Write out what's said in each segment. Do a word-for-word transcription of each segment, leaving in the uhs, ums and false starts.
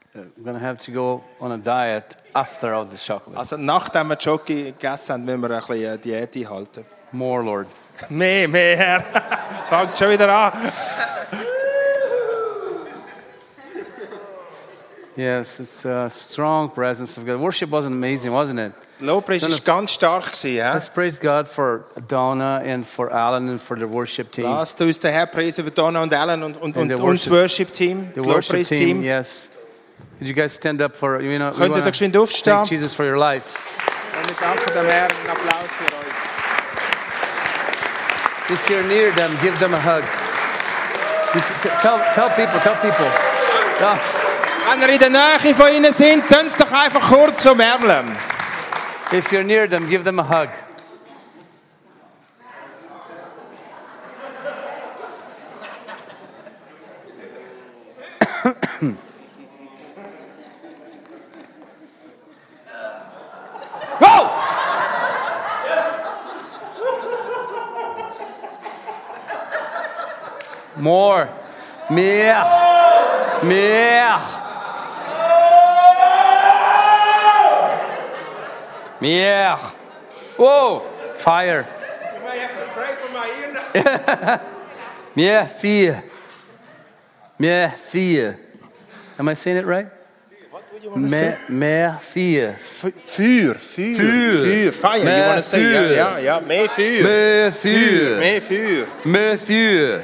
I'm going to have to go on a diet after all this chocolate. Also nachdem wir Schoki gegessen haben, müssen wir ein bisschen Diät einhalten. More, Lord. Mehr, mehr, Herr. Es fängt schon wieder an. Yes, it's a strong presence of God. Worship was amazing, wasn't it? Lobpreis war ganz stark gewesen, ja. Let's praise God for Donna and for Alan and for the worship team. Lasst uns den Herrn preisen für Donna und Alan und, und, And und the uns Worship Team, The das worship Lobpreis team, Team. yes. Did you guys stand up for, you know, we Könnt ihr da wanna geschwind aufstehen? thank Jesus for your lives. Und wir danken dem Herrn. Einen Applaus für euch. If you're near them, give them a hug. If, t- tell, tell people, tell people. Yeah. Wenn ihr in der Nähe von ihnen sind, tun sie doch einfach kurz umärmeln. If you're near them, give them a hug. Go! More. Mehr. Mehr. Mehr. Whoa. Fire. You may have to pray for my ear now. Mehr vier. Mehr vier. Am I saying it right? What do you want to say? Mehr, mehr vier. Feuer, Feuer, Feuer. Feuer, Fire, Mehr you want to say, ja, Feuer. ja, ja, mehr Feuer. Mehr Feuer, vier. mehr Feuer. Mehr vier.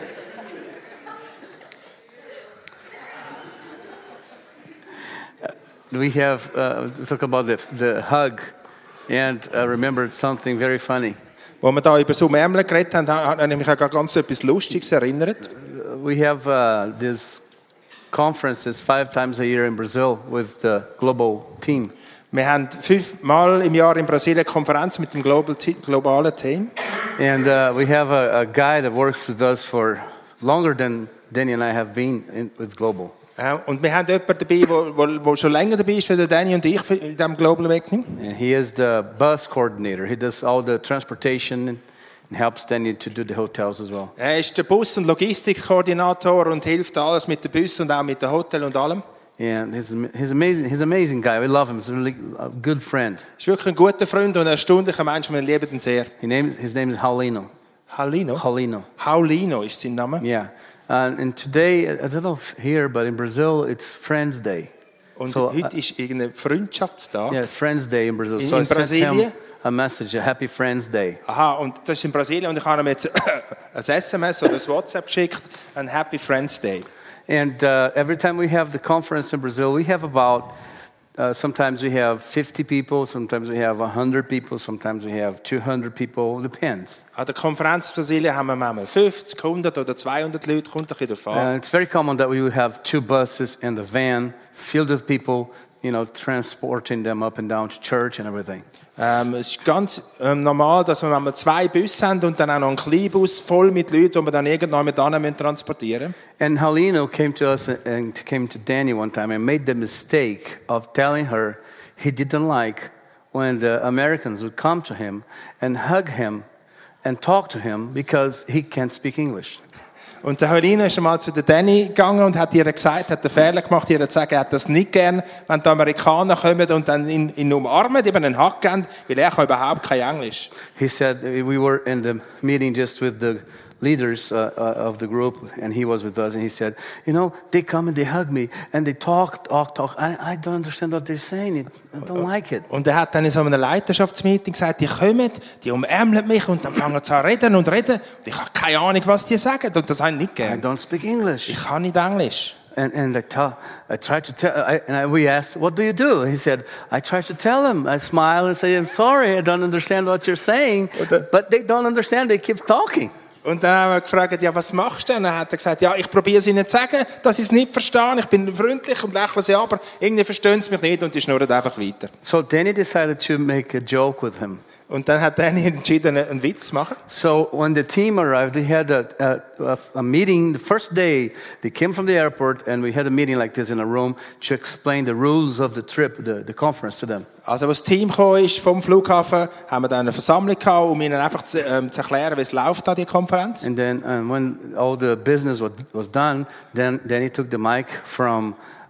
We have uh, talk about the the hug, and I remembered something very funny. Als wir da über so Ärmel geredet haben, habe ich mich an ganz etwas Lustiges erinnert. We have uh, these conferences five times a year in Brazil with the global team. Wir haben fünfmal im Jahr in Brasilien eine Konferenz mit dem Global Te- globalen Team. And uh, we have a, a guy that works with us for longer than Danny and I have been in, with Global. Äh, Und wir haben jemanden dabei, der schon länger dabei ist, wie der Danny und ich in diesem Global Awakening. And he is the bus coordinator. He does all the transportation and helps Danny to do the hotels as well. Er ist der Bus- und Logistikkoordinator und hilft alles mit den Bussen und auch mit dem Hotel und allem. And he's, he's amazing. He's an amazing guy. We love him. He's a really a good friend. Er ist wirklich ein guter Freund und ein erstaunlicher Mensch. Wir lieben ihn sehr. His name, his name is Paulino. Paulino? Paulino. Paulino ist sein Name. Yeah. Uh, and today, I don't know if here, but in Brazil, it's Friends Day. Und So, heute ist irgendein Freundschaftstag. Yeah, Friends Day in Brazil. In- So I in sent him Brasilien? a message, a Happy Friends Day. Aha, und das ist in Brasilien und ich habe ihm jetzt ein S M S oder ein WhatsApp geschickt, ein Happy Friends Day. And uh, every time we have the conference in Brazil, we have about, uh, sometimes we have fifty people, sometimes we have one hundred people, sometimes we have two hundred people, depends. An der Konferenz in Brasilien haben wir manchmal fünfzig, hundert oder zweihundert Leute, kommt ein bisschen davon. And it's very common that we would have two buses and a van filled with people, you know, transporting them up and down to church and everything. Ähm, es ist ganz ähm, normal, dass wir manchmal zwei Busse haben und dann auch noch einen Kleinbus voll mit Leuten, die wir dann irgendwann mit anderen transportieren müssen. And Halino came to us and came to Danny one time and made the mistake of telling her he didn't like when the Americans would come to him and hug him and talk to him because he can't speak English. Und der Helene ist einmal zu der Danny gegangen und hat ihr gesagt, hat den Fehler gemacht, ihr zu sagen, er hat das nicht gern, wenn die Amerikaner kommen und dann ihn, ihn umarmen, eben einen Hack geben, weil er kann überhaupt kein Englisch. He said we were in the meeting just with the leaders uh, uh, of the group, and he was with us, and he said, you know, they come and they hug me, and they talk, talk, talk. I, I don't understand what they're saying. I don't like it. Und er hat dann in so einem Leiterschaftsmeeting gesagt, die kommen, die umarmen mich und dann fangen sie an reden und reden. Und ich habe keine Ahnung, was die sagen, und das habe ich nicht I gern. don't speak English. Ich kann nicht Englisch. And, and I, tell, I tried to tell, I, and I, we asked, what do you do? He said, I try to tell them. I smile and say, I'm sorry, I don't understand what you're saying. But they don't understand, they keep talking. Und dann haben wir gefragt, ja, was machst du denn? Dann hat er gesagt, ja, ich probiere es ihnen zu sagen, dass sie es nicht verstehen. Ich bin freundlich und lächle sie, aber irgendwie verstehen sie mich nicht und die schnurren einfach weiter. So Danny decided to make a joke with him. Und dann hat Danny entschieden, einen Witz zu machen. So when the team arrived, they had a, a, a meeting. The first day, they came from the airport, and we had a meeting like this in a room to explain the rules of the trip, the, the conference to them. Also, als das Team gekommen ist vom Flughafen, haben wir dann eine Versammlung gehabt, um ihnen einfach zu, ähm, zu erklären, wie es läuft an die Konferenz. And then um, when all the business was, was done, then, then he took the mic from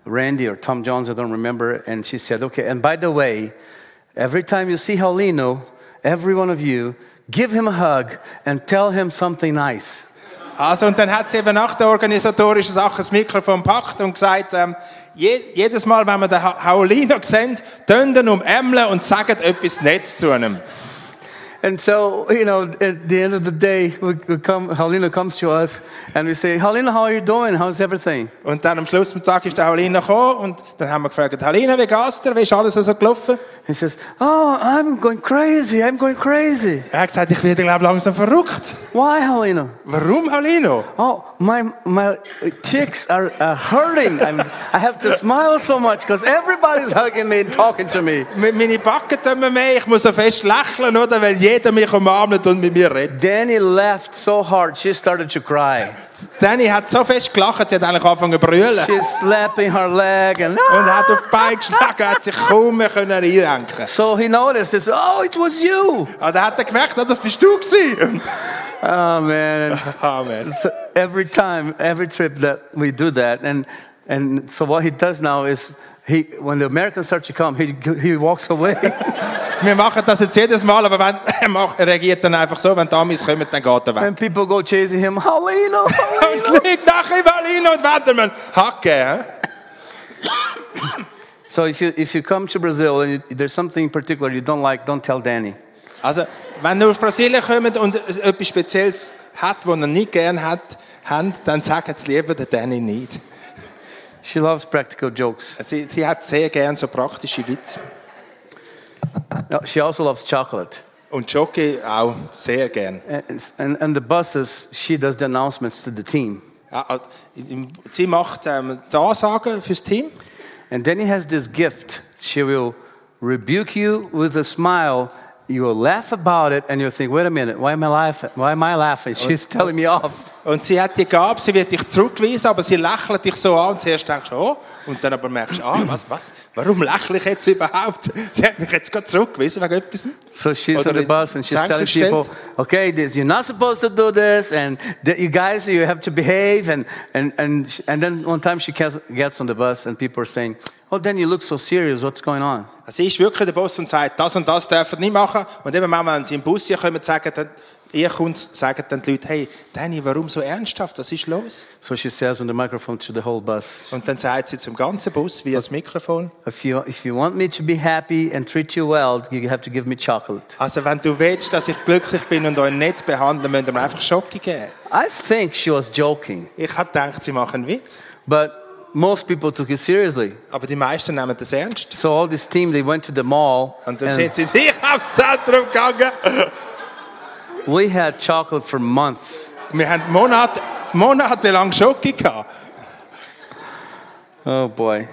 Randy or Tom Jones, I don't remember. And she said, okay, and by the way, every time you see Paulino, every one of you, give him a hug and tell him something nice. Also, und dann hat sie eben nach der organisatorischen Sache das Mikrofon gepackt und gesagt, ähm, je, jedes Mal, wenn wir den Paulino sehen, tönt ihn umämmeln und sagt etwas Nettes zu ihm. And so, you know, at the end of the day, we, we come, Paulino comes to us and we say, Paulino, how are you doing? How's everything? Und dann am Schluss des Tages ist der Paulino gekommen und dann haben wir gefragt, Paulino, wie geht's dir? Wie ist alles so gelaufen? He says, oh, I'm going crazy, I'm going crazy. Er hat gesagt, ich werde, glaube ich, langsam verrückt. Why, Paulino? Warum, Paulino? Oh, my my cheeks are uh, hurting. I'm, I have to smile so much because everybody's hugging me and talking to me. Meine Backen tun mir mehr, ich muss so fest lächeln, oder? Weil jeder mich umarmt und mit mir redet. Danny laughed so hard, she started to cry. Danny hat so fest gelacht, sie hat eigentlich angefangen zu brüllen. She's slapping her leg and Und hat auf die Beine geschlagen, hat sich kaum mehr reinrenken. So he noticed, he said, oh, it was you. Und dann hat er gemerkt, das bist du gewesen. Oh, man. Amen. So every time, every trip that we do that, and and so what he does now is, he when the Americans start to come, he he walks away. Wir machen das jetzt jedes Mal, aber wenn, er, macht, er reagiert dann einfach so, wenn die Amis kommen, dann geht er weg. And people go chasing him, Paulino, Paulino. Und fliegt nachher Paulino und werden wir hacken. So if you if you come to Brazil and you, there's something particular you don't like, don't tell Danny. Also, wenn ihr auf Brasilien kommt und es etwas Spezielles hat, was ihr nicht gerne habt, habt, dann sagt es lieber der Danny nicht. She loves practical jokes. Sie, sie hat sehr gerne so praktische Witze. No, she also loves chocolate. Und Jockey auch sehr gern. And, and, and the buses, she does the announcements to the team. Ja, sie macht ähm, die Ansagen fürs Team. And then he has this gift. She will rebuke you with a smile. You will laugh about it and you'll think, wait a minute, why am I laughing? Why am I laughing? She's telling me off. Und sie hat die Gabe, sie wird dich zurückweisen, aber sie lächelt dich so an und zuerst denkst du, oh, und dann aber merkst du, ah, was, was, warum lächle ich jetzt überhaupt? Sie hat mich jetzt gerade zurückgewiesen wegen etwas. So she's Oder on the bus and she's telling people, okay, this, you're not supposed to do this, and that you guys, you have to behave, and and and and then one time she gets on the bus and people are saying, oh, then you look so serious, what's going on? Sie ist wirklich der Boss und sagt, das und das dürfen nicht machen. Und eben wenn sie im Bus hier kommen, sagen dann, ihr kommt, sagen dann die Leute, hey, Danny, warum so ernsthaft? Was ist los? So she says on the microphone to the whole bus. Und dann sagt sie zum ganzen Bus via das Mikrofon. If you if you want me to be happy and treat you well, you have to give me chocolate. Also wenn du willst, dass ich glücklich bin und euch nett behandle, müsst ihr mir einfach Schoki geben. I think she was joking. Ich habe gedacht, sie machen einen Witz. But most people took it seriously. Aber die meisten nehmen das ernst. So all this team, they went to the mall. Und dann sind sie ich aufs Zentrum gegangen. We had chocolate for months. Wir haben Monate, monatelang Schoki gehabt. Oh boy.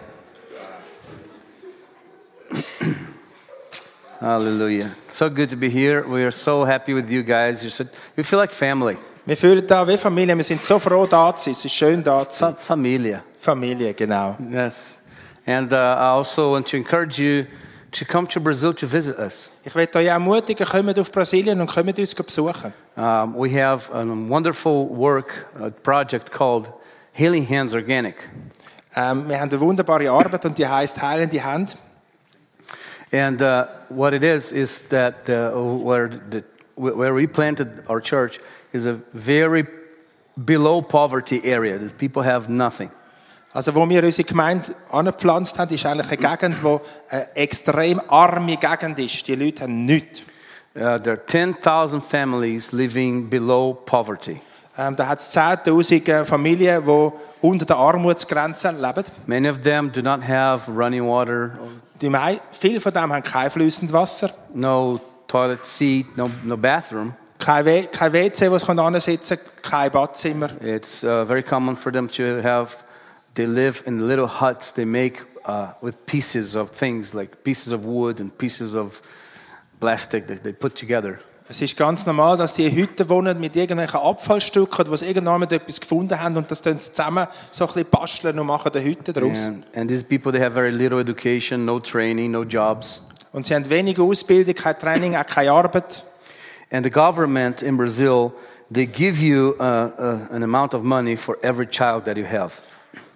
Hallelujah. So good to be here. We are so happy with you guys. You're so, we feel like family. Wir fühlen da wie Familie. Wir sind so froh, da zu sein. Es ist schön, da zu sein. Fa- Familia. Familie, genau. Yes. And uh, I also want to encourage you to come to Brazil to visit us. Ich möchte euch ermutigen, kommt auf Brasilien und kommt uns besuchen. Um, we have a wonderful work, a project called Healing Hands Organic. Ähm, wir haben eine wunderbare Arbeit und die heisst Heilende Hand. And uh, what it is is that uh, where the where we planted our church is a very below poverty area. These people have nothing. Also wo wir unsere Gemeinde angepflanzt haben, ist eigentlich eine Gegend, wo eine extrem arme Gegend ist. Die Leute haben nichts. Uh, there are ten thousand families living below poverty. Ähm, da hat es zehntausend Familien, die unter der Armutsgrenze leben. Many of them do not have running water, Die mei- viele von dem haben kein fließendes Wasser, no toilet seat, no no bathroom. kein, w- kein W C, wo sie hinsitzen können, kein Badzimmer. It's uh, very common for them to have. They live in little huts they make uh, with pieces of things like pieces of wood and pieces of plastic that they put together. Es ist ganz normal, dass die in Hütten wohnen mit irgendwelchen Abfallstücken, wo sie irgendwann etwas gefunden haben und das tun sie zusammen so ein bisschen basteln und machen eine Hütte daraus. And, and these people, they have very little education, no training, no jobs. Und sie haben wenig Ausbildung, kein Training, auch keine Arbeit. And the government in Brazil, they give you uh, uh, an amount of money for every child that you have.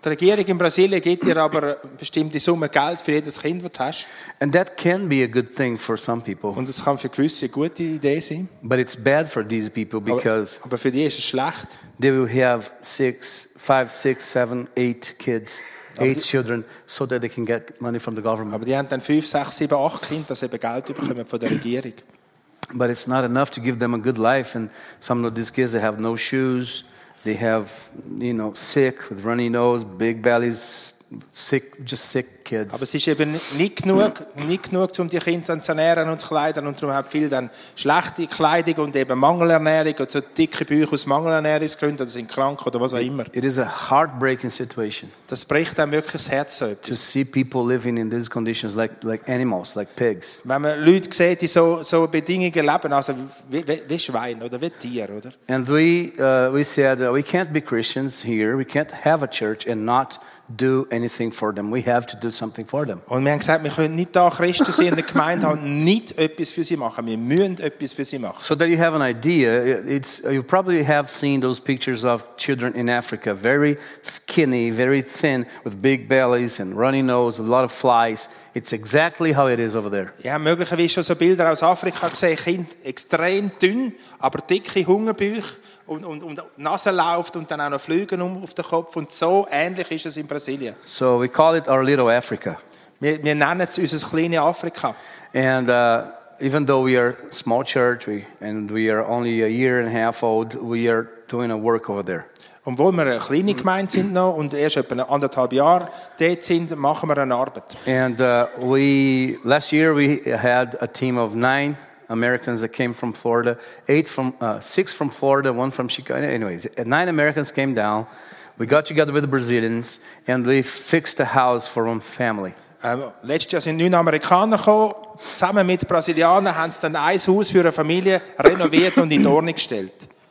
Die Regierung in Brasilien gibt dir aber eine bestimmte Summe Geld für jedes Kind, das du hast. And that can be a good thing for some people. Und das kann für gewisse eine gute Idee sein. But it's bad for these people because Aber, aber für die ist es schlecht. they will have six, five, six, seven, eight kids, eight children, so that they can get money from the government. Aber die haben dann fünf, sechs, sieben, acht Kinder, dass sie eben Geld bekommen von der Regierung. But it's not enough to give them a good life. And some of these kids, they have no shoes. They have, you know, sick with runny nose, big bellies, sick, just sick kids. Aber es ist eben nicht genug, nicht genug, um die Kinder zu ernähren und zu kleiden. Und darum haben viele dann schlechte Kleidung und eben Mangelernährung und so dicke Bücher aus Mangelernährungsgründen oder sind krank oder was auch immer. It is a heartbreaking situation Das bricht dann wirklich das Herz so to etwas. see people living in these conditions like, like animals, like pigs. Wenn man Leute sieht, die so, so Bedingungen leben, also wie, wie, wie Schweine oder wie Tiere, oder? And we, uh, we said, uh, we can't be Christians here. We can't have a church and not do anything for them. We have to do something for them. Und wir haben gesagt, wir können nicht da Christen sein in der Gemeinde haben, nicht etwas für sie machen. Wir müssen etwas für sie machen. So that you have an idea, it's, you probably have seen those pictures of children in Africa, very skinny, very thin, with big bellies and runny nose, a lot of flies. It's exactly how it is over there. Ich habe möglicherweise schon so Bilder aus Afrika gesehen, Kinder extrem dünn, aber dicke Hungerbücher und, und, und die Nase läuft und dann auch noch Flüge um auf den Kopf. Und so ähnlich ist es in Brasilien. So we call it our little Africa. Wir, wir nennen es unser kleines Afrika. And uh, even though we are a small church we, and we are only a year and a half old, we are doing a work over there. Obwohl wir eine kleine Gemeinde sind noch und erst etwa anderthalb Jahre dort sind, machen wir eine Arbeit. And uh, we last year we had a team of nine Americans that came from Florida, eight from uh, six from Florida, one from Chicago. Anyways, nine Americans came down. We got together with the Brazilians and we fixed a house for one family. Ähm, letztes Jahr sind neun Amerikaner gekommen, zusammen mit Brasilianern haben sie dann ein Haus für eine Familie renoviert und in Ordnung gestellt.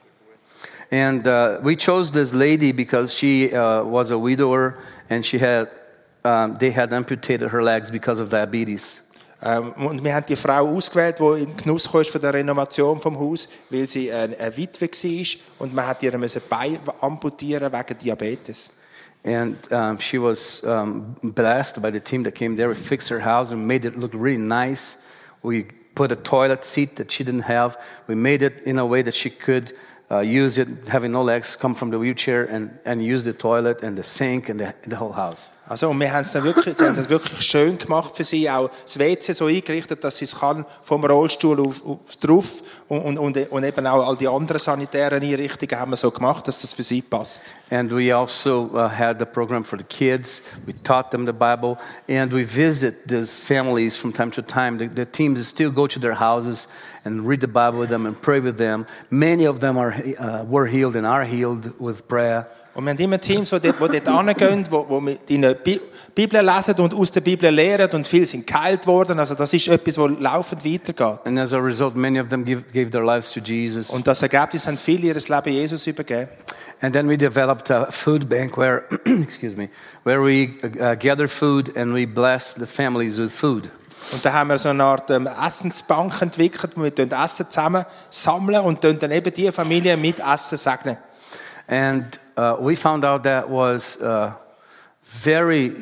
And uh, we chose this lady because she uh, was a widower and she had um, they had amputated her legs because of diabetes. Ähm, und wir haben die Frau ausgewählt, die in Genuss kam von der Renovation vom Haus, weil sie eine, eine Witwe war und man hat ihr müssen Bein amputieren wegen Diabetes. And um, she was um, blessed by the team that came there. We fixed her house and made it look really nice. We put a toilet seat that she didn't have. We made it in a way that she could uh, use it, having no legs, come from the wheelchair and, and use the toilet and the sink and the, the whole house. Also, und wir haben es dann wirklich, sie haben das wirklich schön gemacht für sie, auch das W C so eingerichtet, dass sie es kann, vom Rollstuhl auf, auf drauf und, und, und eben auch all die anderen sanitären Einrichtungen haben wir so gemacht, dass das für sie passt. And we also uh, had the program for the kids. We taught them the Bible, and we visit these families from time to time. The, the teams still go to their houses and read the Bible with them and pray with them. Many of them are uh, were healed and are healed with prayer. Und wir haben immer Teams, die dort, die dort hingehen, wo, wo wir die Bibel lesen und aus der Bibel lehren und viele sind geheilt worden. Also das ist etwas, das laufend weitergeht. And as a result, many of them give, gave their lives to Jesus. Und das Ergebnis haben viele ihr Leben Jesus übergeben. And then we developed a food bank where, excuse me, where we uh, gather food and we bless the families with food. Und da haben wir so eine Art ähm, Essensbank entwickelt, wo wir Essen zusammen sammeln und dann eben die Familie mit Essen segnen. And uh, we found out that was uh, very,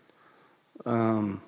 um,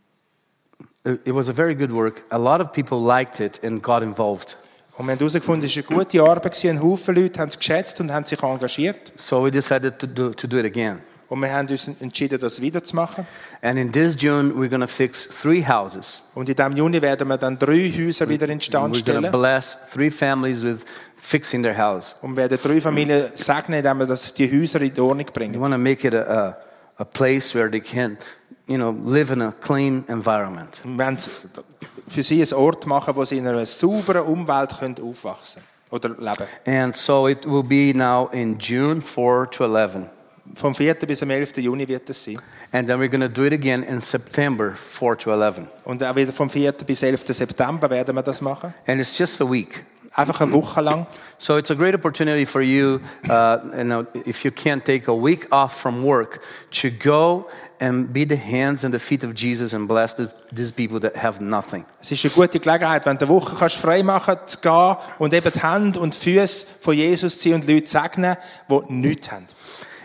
it, it was a very good work. A lot of people liked it and got involved. Und wir haben herausgefunden, es war eine gute Arbeit. Ein Haufen Leute haben es geschätzt und haben sich engagiert. So we decided to do, to do it again. Und wir haben uns entschieden, das wieder zu machen. And in this June, we're going to fix three houses. Und in diesem Juni werden wir dann drei Häuser wieder in Stand We're going stellen. to bless three families with fixing their house. Und werden drei Familien segnen, indem wir das, die Häuser in die Ordnung We bringen. want to make it a, a, a place where they can, you know, live in a clean environment. Und wir wollen für sie einen Ort machen, wo sie in einer sauberen Umwelt können aufwachsen oder leben. And so it will be now in June four to eleven. Vom vierten bis zum elften Juni wird es sein. And then we're going to do it again in September four to eleven. Und auch wieder vom vierten bis elften September werden wir das machen. And it's just a week. Einfach eine Woche lang. So it's a great opportunity for you, uh, you know, if you can't take a week off from work, to go and be the hands and the feet of Jesus and bless the, these people that have nothing. Es ist eine gute Gelegenheit, wenn du eine Woche kannst frei machen kannst, zu gehen und eben die Hände und die Füße von Jesus zu ziehen und Leute segnen, die nichts haben.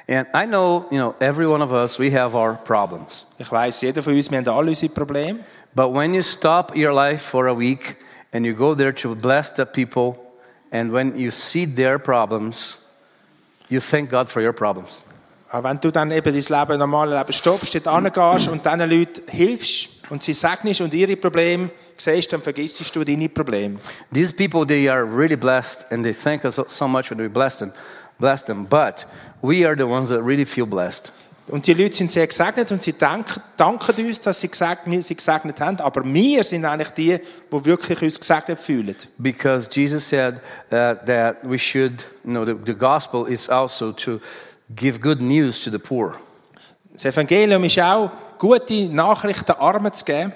And I know, you know, every one of us, we have our problems. Ich weiss, jeder von uns, wir haben alle unsere Probleme. But when you stop your life for a week and you go there to bless the people, and when you see their problems, you thank God for your problems. Aber wenn du dann eben dein Leben, normale Leben stoppst, dort hingehst und diesen Leuten hilfst und sie segnest und ihre Probleme siehst, dann vergisst du deine Probleme. These people, they are really blessed, and they thank us so much when we bless them, bless them. But we are the ones that really feel blessed. Und die Leute sind sehr gesegnet und sie danken, danken uns, dass sie gesegnet, sie gesegnet haben. Aber wir sind eigentlich die, die wirklich uns gesegnet fühlen. Because Jesus said uh, that we should, you know, the, the gospel is also to give good news to the poor. Das Evangelium ist auch, gute Nachrichten Armen zu geben.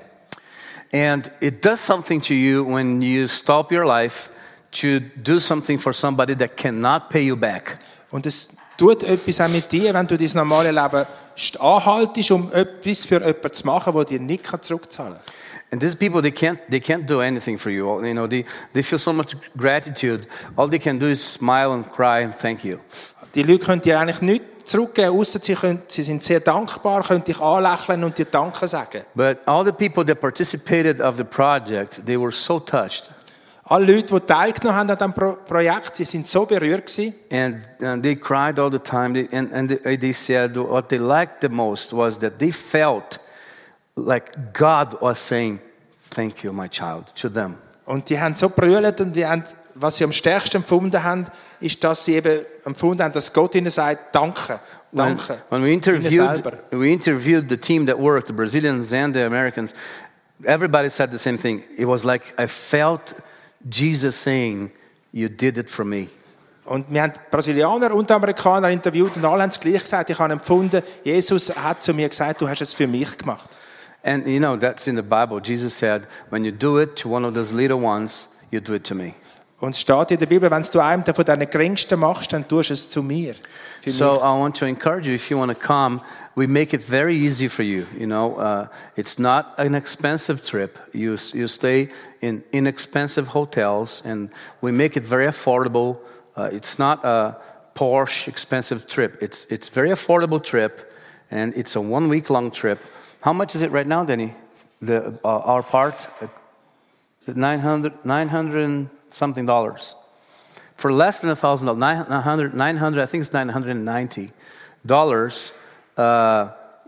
And it does something to you when you stop your life to do something for somebody that cannot pay you back. Und es tut etwas auch mit dir, wenn du dein normale Leben anhaltest, um etwas für jemanden zu machen, der dir nicht zurückzahlen kann. And these people, they can't, they can't do anything for you. You know, they, they feel so much gratitude. All they can do is smile and cry and thank you. Die Leute können dir eigentlich nichts zurückgeben, ausser sie, können, sie sind sehr dankbar, können dich anlächeln und dir Danke sagen. But all the people that participated of the project, they were so touched. Alle Leute, die teilgenommen haben an diesem Pro- Projekt, sie sind so berührt gewesen. And, and they cried all the time. They, and and they, they said what they liked the most was that they felt like God was saying, "Thank you, my child," to them. Und die haben so brüllt und die haben, was sie am stärksten empfunden haben, ist, dass sie eben empfunden haben, dass Gott ihnen sagt, danke, When, danke. when we Ihnen interviewed, selber. we interviewed the team that worked, the Brazilians and the Americans. Everybody said the same thing. It was like I felt Jesus saying, "You did it for me." Und wir haben Brasilianer und Amerikaner interviewt und alle haben es gleich gesagt. Ich habe empfunden, Jesus hat zu mir gesagt, du hast es für mich gemacht. And you know, that's in the Bible. Jesus said, when you do it to one of those little ones, you do it to me. Und es steht in der Bibel, wenn du einem von deinen Geringsten machst, dann tust du es zu mir. Für So mich. I want to encourage you, if you want to come, we make it very easy for you. You know, uh, it's not an expensive trip. You, you stay in inexpensive hotels, and we make it very affordable. Uh, it's not a Porsche expensive trip. It's, it's very affordable trip, and it's a one-week-long trip. How much is it right now, Danny? The, uh, our part? Uh, nine hundred, nine hundred and something dollars. For less than one thousand dollars, nine hundred, nine hundred, I think it's nine hundred ninety dollars uh,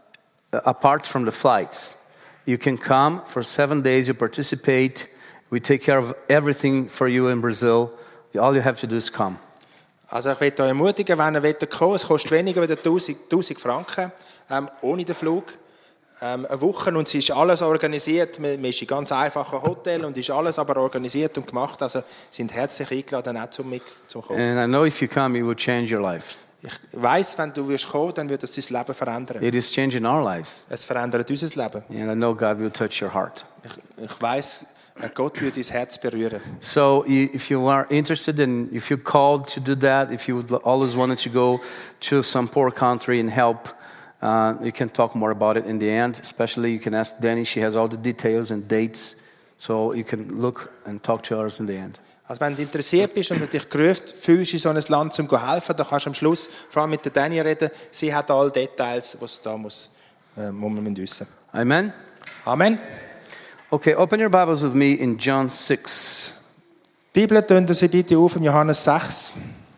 apart from the flights. You can come for seven days, you participate, we take care of everything for you in Brazil. All you have to do is come. Also ich möchte euch ermutigen, wenn ihr wollt kommen, es kostet weniger als tausend Franken, ähm, ohne den Flug. Ähm, eine Woche und es ist alles organisiert. Man, man ist in ganz einfachen Hotel und ist alles aber organisiert und gemacht. Also sind herzlich eingeladen, auch zum, zum Kommen. And I know if you come, it will change your life. Ich weiss, wenn du wirst kommen, dann wird es dein Leben verändern. It is changing our lives. Es verändert unser Leben. And I know God will touch your heart. Ich, ich weiss, Gott wird dein Herz berühren. So if you are interested and if you're called to do that, if you would always wanted to go to some poor country and help, Uh, you can talk more about it in the end. Especially, you can ask Danny. She has all the details and dates, so you can look and talk to us in the end. Also wenn du interessiert bist und dich gerufen fühlst, in so ein Land zum zu helfen, dann kannst du am Schluss vor allem mit der Danny reden. Sie hat alle Details, was da muss, äh, muss man wissen. Amen. Amen. Okay, open your Bibles with me in John six. Die Bibel tun Sie bitte auf in Johannes sechs.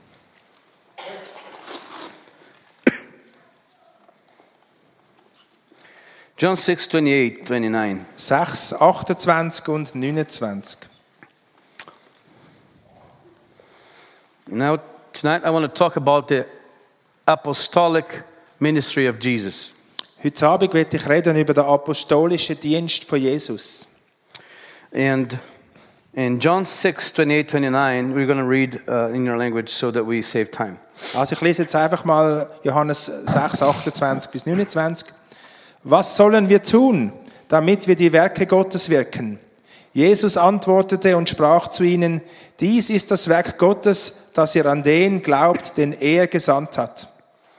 John six, twenty-eight, twenty-nine. sechs, achtundzwanzig und neunundzwanzig. Now, tonight I want to talk about the apostolic ministry of Jesus. Heute Abend werde ich reden über den apostolischen Dienst von Jesus. And in John six, twenty-eight, twenty-nine, we're going to read uh, in your language so that we save time. Also ich lese jetzt einfach mal Johannes sechs, achtundzwanzig bis neunundzwanzig. Was sollen wir tun, damit wir die Werke Gottes wirken? Jesus antwortete und sprach zu ihnen, dies ist das Werk Gottes, dass ihr an den glaubt, den er gesandt hat.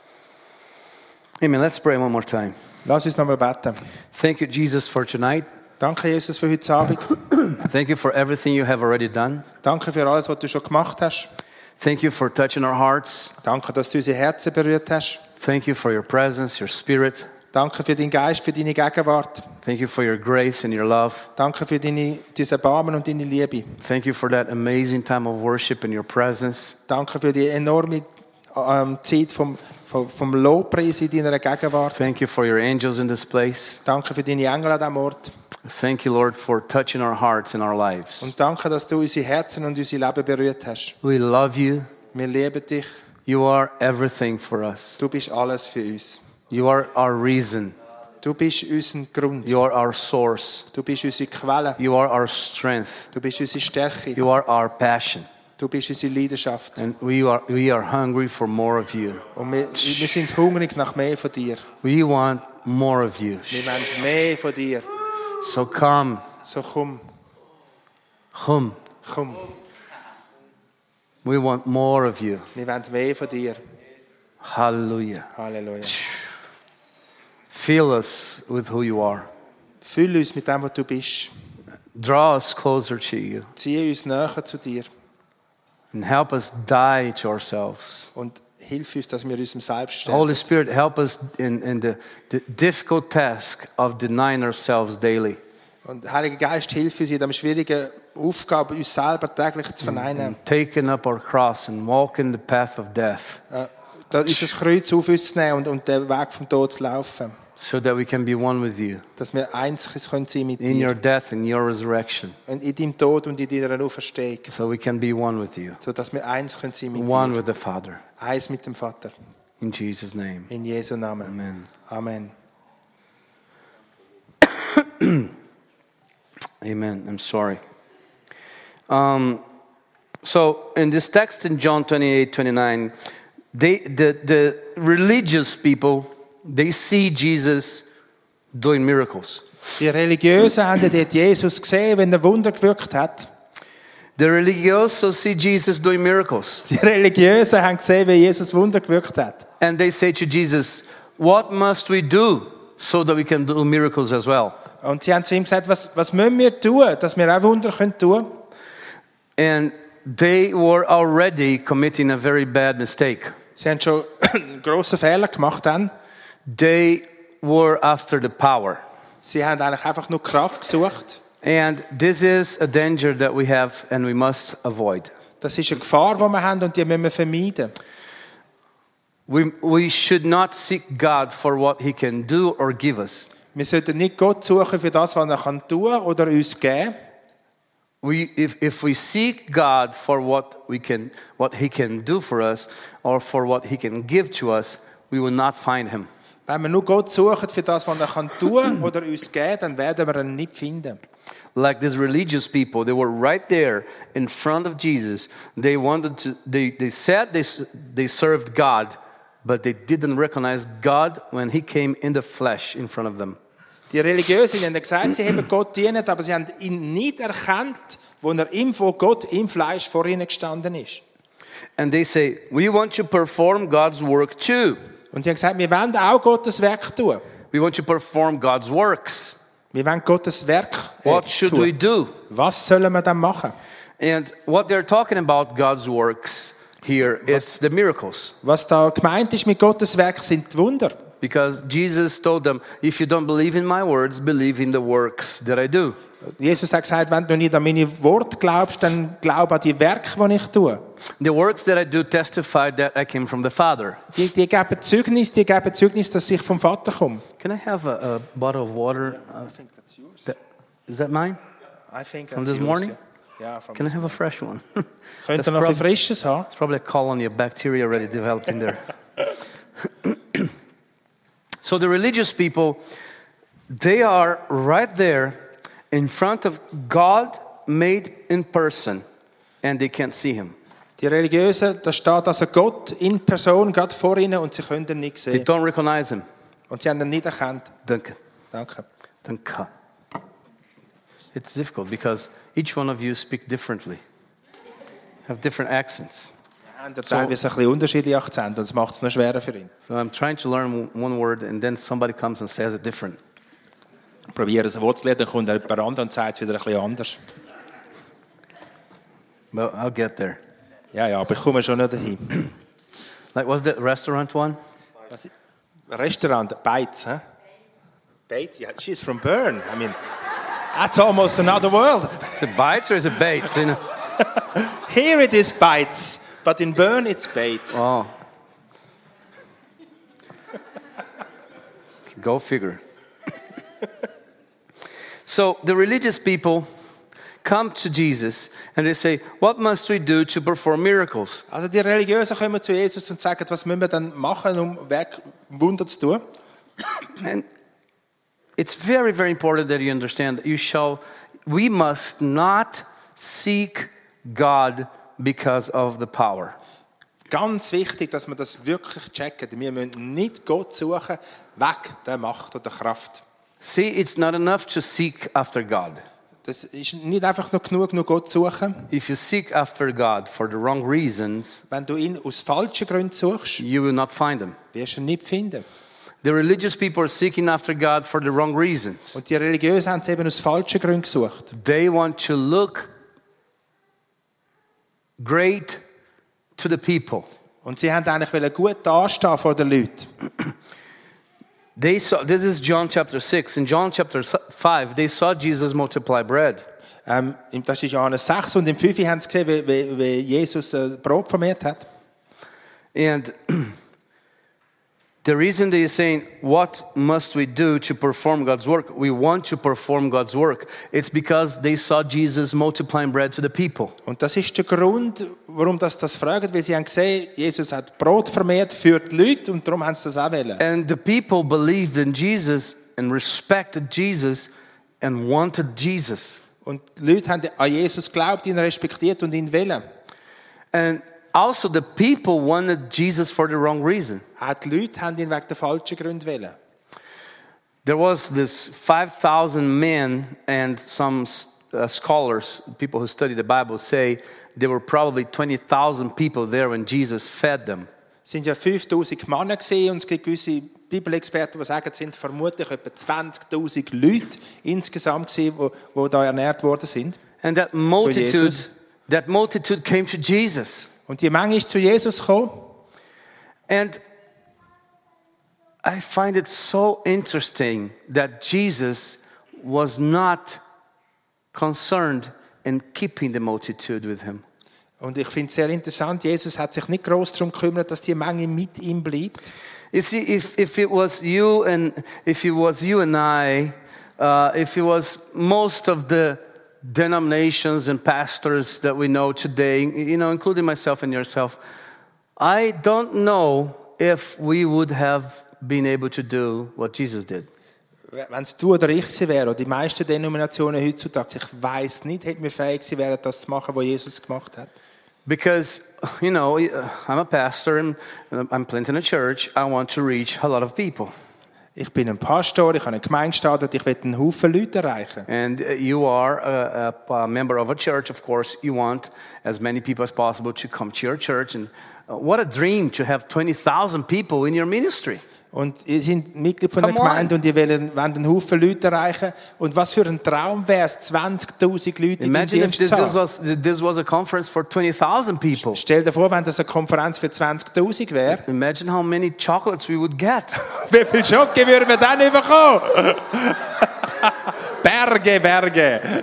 Amen. Let's pray one more time. Lass uns nochmal beten. Thank you, Jesus, for tonight. Danke, Jesus, für heute Abend. Thank you for everything you have already done. Danke für alles, was du schon gemacht hast. Thank you for touching our hearts. Danke, dass du unsere Herzen berührt hast. Thank you for your presence, your spirit. Danke für deinen Geist, für deine Gegenwart. Thank you for your grace and your love. Danke für deine, dein Erbarmen und deine Liebe. Thank you for that amazing time of worship in your presence. Danke für die enorme ähm, Zeit vom, vom, vom Lobpreis in deiner Gegenwart. Thank you for your angels in this place. Danke für deine Engel an diesem Ort. Thank you, Lord, for touching our hearts and our lives. Und danke, dass du unsere Herzen und unser Leben berührt hast. We love you. Wir lieben dich. You are everything for us. Du bist alles für uns. You are our reason. Du bist unser Grund. You are our source. Du bist unsere Quelle. You are our strength. Du bist unsere Stärke. You are our passion. Du bist unsere Leidenschaft. And we are, we are hungry for more of you. Und wir, wir sind hungrig nach mehr von dir. We want more of you. Wir wollen mehr von dir. So come. So komm, Come. komm. We want more of you. Wir wollen mehr von dir. Hallelujah. Halleluja. Fill us with who you are. Füll uns mit dem, was du bist. Draw us closer to you. Zieh uns näher zu dir. And help us die to ourselves. Und hilf uns, dass wir unserem Selbst stellen. Holy Spirit, help us in, in the, the difficult task of denying ourselves daily. Und Heiliger Geist, hilf uns in dieser schwierigen Aufgabe, uns selber täglich zu verneinen. And taking up our cross and walking the path of death. Äh, da unser Kreuz auf uns zu nehmen und, und den Weg vom Tod zu laufen. So that we can be one with you. Dass wir eins sein können mit In your dir. death and your resurrection. Und in deinem Tod und in deiner Auferstehung. So we can be one with you. So dass wir eins können sein mit One dir. with the Father. Eins mit dem Vater. In Jesus' name. In Jesu Namen. Amen. Amen. Amen. I'm sorry. Um, so in this text in John twenty-eight, twenty-nine, they, the, the religious people, they see Jesus doing miracles. Die Religiösen haben dort Jesus gesehen, wenn er Wunder gewirkt hat. The religiosos see Jesus doing miracles. Die Religiösen haben gesehen, wie Jesus Wunder gewirkt hat. And they say to Jesus, what must we do so that we can do miracles as well? Und sie haben zu ihm gesagt, was, was müssen wir tun, dass wir auch Wunder tun können? And they were already committing a very bad mistake. Sie haben schon einen grossen Fehler gemacht dann. They were after the power. Sie haben eigentlich einfach nur Kraft gesucht. And this is a danger that we have and we must avoid. Das ist eine Gefahr, die wir haben und die müssen wir vermeiden. We, we should not seek God for what He can do or give us. Wir sollten nicht Gott suchen für das, was er kann tun oder uns geben. We, if, if we seek God for what, we can, what He can do for us or for what He can give to us, we will not find Him. Wenn wir nur Gott suchen für das, was er kann tun oder uns geben, dann werden wir ihn nicht finden. Like these religious people, they were right there in front of Jesus. They wanted to. They, they said they, they served God, but they didn't recognize God when He came in the flesh in front of them. Die Religiösen haben gesagt, sie haben Gott dienen, aber sie haben ihn nicht erkannt, wo er im vor Gott im Fleisch vor ihnen gestanden ist. And they say, we want to perform God's work too. Und sie haben gesagt, wir wollen auch Gottes Werk tun. We want to perform God's works. Wir wollen Gottes Werk äh, What should tun. we do? Was sollen wir dann machen? And what they're talking about God's works here, it's the miracles. Was da gemeint ist mit Gottes Werk, sind die Wunder. Because Jesus told them, if you don't believe in my words, believe in the works that I do. Jesus hat gesagt, wenn du nicht an meine Worte glaubst, dann glaub an die Werke, die ich tue. The works that I do testify that I came from the Father. Die, die geben Zeugnis, die geben Zeugnis, dass ich vom Vater komme. Can I have a, a bottle of water? Uh, that, is that mine? I think From this morning? Ja, from Can I have a fresh one? Könnt ihr noch ein frisches haben? It's probably a colony of bacteria already developed in there. So the religious people, they are right there in front of God made in person, and they can't see Him. Die Religiösen, da steht also Gott in Person, Gott vor ihnen, und sie können ihn nicht They sehen. don't recognize Him. Und sie haben ihn nicht erkannt. Danke. Danke. Danke. It's difficult because each one of you speak differently, have different accents. Er hat teilweise ein bisschen unterschiedliche Akzente, und das macht es noch schwerer für ihn. So I'm trying to learn one word, and then somebody comes and says it different. Probieren ein Wort zu lernen, dann kommt jemand anderes und sagt es wieder ein bisschen anders. But I'll get there. Ja, ja, aber ich komme schon nicht dahin. Like, what's the restaurant one? Was, Restaurant, Bates, huh? Bates, yeah, she's from Bern. I mean, that's almost another world. Is it Bites or is it Bates? You know? Here it is Bates, but in Bern it's Bates. Oh. Go figure. So the religious people come to Jesus and they say, what must we do to perform miracles? Also die Religiösen kommen zu Jesus und sagen, was müssen wir dann machen, um Werk, Wunder zu tun? And it's very, very important that you understand that you shall, we must not seek God because of the power. Ganz wichtig, dass wir das wirklich checken. Wir müssen nicht Gott suchen, weg der Macht oder Kraft. See, it's not enough to seek after God. Das ist nicht einfach nur genug, nur Gott zu suchen. If you seek after God for the wrong reasons, Wenn du ihn aus falschen Gründen suchst, you will not find him. wirst du ihn nicht finden. The religious people are seeking after God for the wrong reasons. Und die Religiösen haben es eben aus falschen Gründen gesucht. They want to look great to the people. Und sie haben eigentlich wollen gut dastehen vor den Leuten. They saw, this is John chapter six. In John chapter five, they saw Jesus multiply bread. Ähm, das ist Johannes sechs und im fünf haben sie gesehen, wie, wie, wie Jesus äh, Brot vermehrt hat. And the reason they are saying, what must we do to perform God's work? We want to perform God's work. It's because they saw Jesus multiplying bread to the people. Und das ist der Grund, warum das das fragen, weil sie haben gesehen, Jesus hat Brot vermehrt für die Leute und darum haben sie das auch wollen. And the people believed in Jesus and respected Jesus and wanted Jesus. Und die Leute haben an Jesus geglaubt, ihn respektiert und ihn wollen. And also the people wanted Jesus for the wrong reason. Auch die Leute haben ihn wegen der falschen Gründe wollen. There was this five thousand men and some uh, scholars, people who study the Bible, say there were probably twenty thousand people there when Jesus fed them. Es sind ja fünftausend Männer gesehen und es gibt gewisse Bibelexperten, die sagen, es sind vermutlich etwa zwanzigtausend Leute insgesamt gewesen, die, die da ernährt worden sind. And that multitude, that multitude came to Jesus. Und die Menge ist zu Jesus gekommen. And I find it so interesting that Jesus was not concerned in keeping the multitude with him. Und ich finde es sehr interessant, Jesus hat sich nicht groß darum gekümmert, dass die Menge mit ihm bleibt. You see, if, if it was you and if it was you and I, uh, if it was most of the denominations and pastors that we know today, you know, including myself and yourself, I don't know if we would have been able to do what Jesus did. Wenn es du oder ich gewesen wäre, oder die meisten Denominationen heutzutage, ich weiss nicht, hätten wir fähig gewesen wären, das zu machen, was Jesus gemacht hat. Because, you know, I'm a pastor and I'm planting a church. I want to reach a lot of people. Ich bin ein Pastor, ich habe eine Gemeinde gestartet, ich will einen Haufen Leute erreichen. And you are a, a, a member of a church, of course. You want as many people as possible to come to your church. And what a dream to have twenty thousand people in your ministry. Und ihr seid Mitglied von der Gemeinde und ihr wollt, wollt einen Haufen Leute erreichen. Und was für ein Traum wäre es, zwanzigtausend Leute in den Dienst zu haben. Imagine if this was, this was a conference for twenty thousand people. Stell dir vor, wenn das eine Konferenz für zwanzigtausend wäre. Imagine how many chocolates we would get. Wie viel Schoki würden wir dann bekommen? Berge, Berge.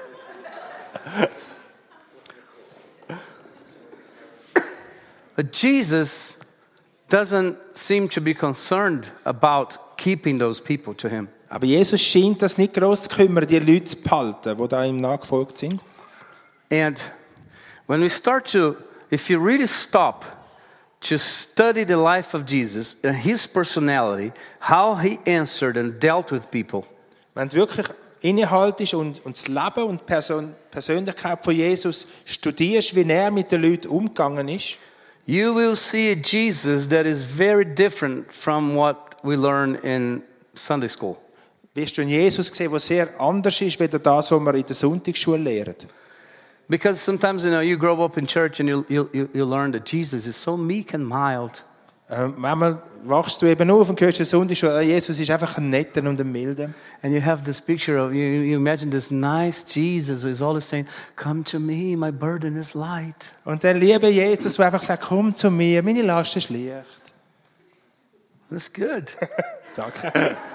But Jesus doesn't seem to be concerned about keeping those people to him. Aber Jesus scheint das nicht groß zu kümmern, die Leute zu behalten, die da ihm nachgefolgt sind. And when we start to, if you really stop to study the life of Jesus and his personality, how he answered and dealt with people. Wenn du wirklich innehaltest und, und das Leben und die Person, Persönlichkeit von Jesus studierst, wie er mit den Leuten umgegangen ist, you will see a Jesus that is very different from what we learn in Sunday school. Wirst du einen Jesus sehen, der sehr anders ist, als das, was wir in der Sonntagsschule lernen. Because sometimes, you know, you grow up in church and you you you learn that Jesus is so meek and mild. Ähm, manchmal wachst du eben auf und hörst den Sonntagsschule, Jesus ist einfach ein netter und ein milder. And you have this picture of, you, you imagine this nice Jesus who is always saying, come to me, my burden is light. Und der liebe Jesus, der einfach sagt, komm zu mir, meine Last ist leicht. That's good. Danke.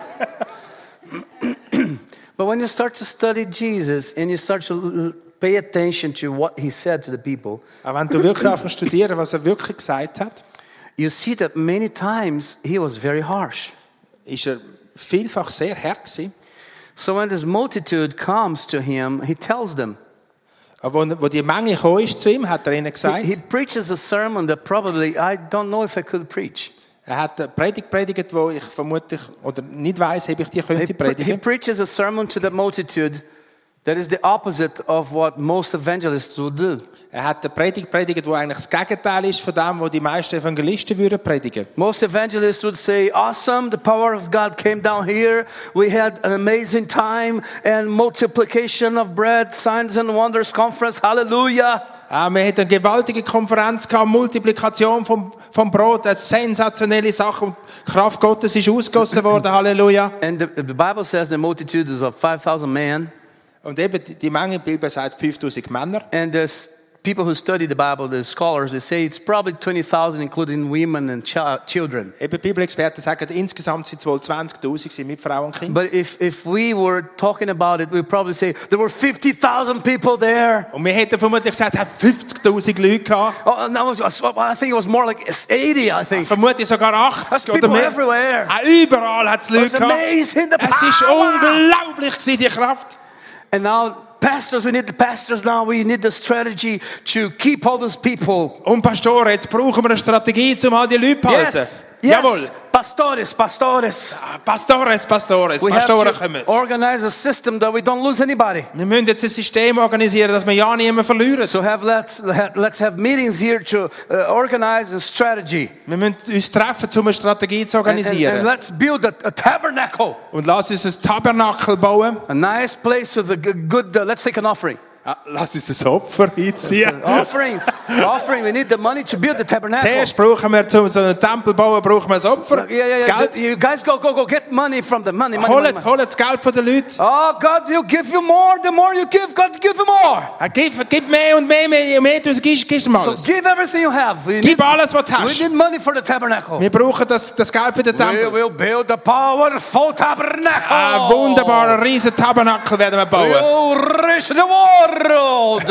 But when you start to study Jesus and you start to l- pay attention to what he said to the people, Auch wenn du wirklich anfängst zu studieren, was er wirklich gesagt hat, you see that many times he was very harsh. ist er vielfach sehr hart gewesen. So when this multitude comes to him, he tells them. Aber wo, wo die Menge gekommen ist zu ihm, hat er ihnen He, gesagt, he preaches a sermon that probably I don't know if I could preach. er hat eine Predigt predigt, wo ich vermutlich oder nicht weiss, ob ich die He, könnte pre- he predigen. preaches a sermon to the multitude that is the opposite of what most evangelists would do. Er hat eine Predigt predigt, wo eigentlich das Gegenteil ist von dem, was die meisten Evangelisten würden predigen. Most evangelists would say, awesome, the power of God came down here. We had an amazing time and multiplication of bread, signs and wonders conference. Hallelujah. Ah, wir hatten eine gewaltige Konferenz gehabt, Multiplikation vom, vom Brot, eine sensationelle Sache und die Kraft Gottes ist ausgegossen worden. Halleluja. And the, the Bible says the multitude is of five thousand men. Und eben die die Menge, die Bibel sagt fünftausend Männer. And the s- people who study the Bible, the scholars, they say it's probably twenty thousand, including women and chi- children. Eben Bibelexperten sagen, insgesamt sind es wohl zwanzigtausend mit Frauen und Kindern. But if, if we were talking about it, we'd probably say there were fifty thousand people there. Und wir hätten vermutlich gesagt, es hat fünfzigtausend Leute gehabt. Oh, and that was, I think it was more like eighty, I think. Vermutlich sogar There's achtzig oder people mehr. everywhere. Ah, überall hat es It Leute was gehabt. amazing, the Es ist power. unglaublich gewesen, die Kraft. And now, pastors, we need the pastors now. We need the strategy to keep all those people. Und Pastoren, jetzt brauchen wir eine Strategie, um all die Leute zu halten. Yes, Jawohl. yes, pastores, pastores. Ah, Pastores, Pastores, We have Pastoren to kommen. organize a system that we don't lose anybody. Wir müssen jetzt ein System organisieren, dass wir ja niemanden verlieren. So have let's let's have meetings here to uh, organize a strategy. Wir müssen uns treffen, um eine Strategie zu And, and, organisieren. and let's build a, a tabernacle, Und lass uns ein Tabernakel bauen. a nice place with a g- good. Uh, let's take an offering. Ah, lass uns ein Opfer einziehen. Offerings, offering. We need the money to build the tabernacle. Zuerst brauchen wir, um so einen Tempel zu bauen, brauchen wir ein Opfer. Yeah, yeah, Das yeah. Geld. You guys go, go, go. Get money from the money. money, money, Holt, money. holt das Geld von den Leuten. Oh, God will give you more. The more you give, God will give you more. Ah, Gib, gib mehr und mehr, mehr, je mehr du gibst, gibst du ihm So alles. give everything you have. We need, Gib alles, was du we hast. need money for the tabernacle. Wir brauchen das, das Geld für den We Tempel. will build a powerful tabernacle. Ein wunderbarer, riesen Tabernakel werden wir bauen. We'll reach the world.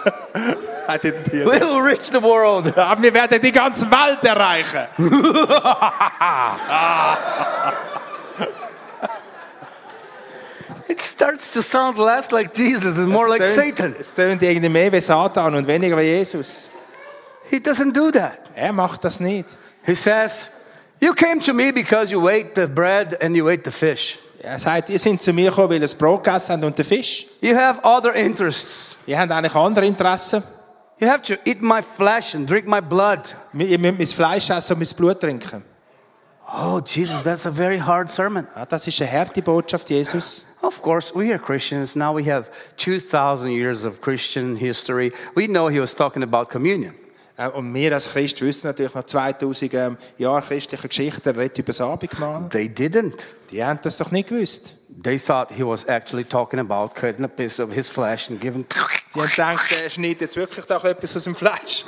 I didn't hear that. We'll reach the world. Aber wir werden die ganze Welt erreichen. It starts to sound less like Jesus and more like Es tönt- Satan. Es tönt irgendwie mehr wie Satan und weniger wie Jesus. He doesn't do that. Er macht das nicht. He says, you came to me because you ate the bread and you ate the fish. Er sagt, ihr seid zu mir gekommen, weil ihr das Brot gegessen habt und den Fisch. You have other interests. Ihr habt eigentlich andere Interessen. You have to eat my flesh and drink my blood. Ihr müsst mein Fleisch essen und mein Blut trinken. Oh, Jesus, that's a very hard sermon. Ja, das ist eine harte Botschaft, Jesus. Of course, we are Christians. Now we have two thousand years of Christian history. We know he was talking about communion. Äh, Und wir als Christen wissen natürlich nach zweitausend ähm, Jahren christlicher Geschichte, er redet über das Abendmahl. They didn't. Die haben das doch nicht gewusst. They thought he was actually talking about cutting a piece of his flesh and giving. Die haben gedacht, er schneidet jetzt wirklich doch etwas aus dem Fleisch.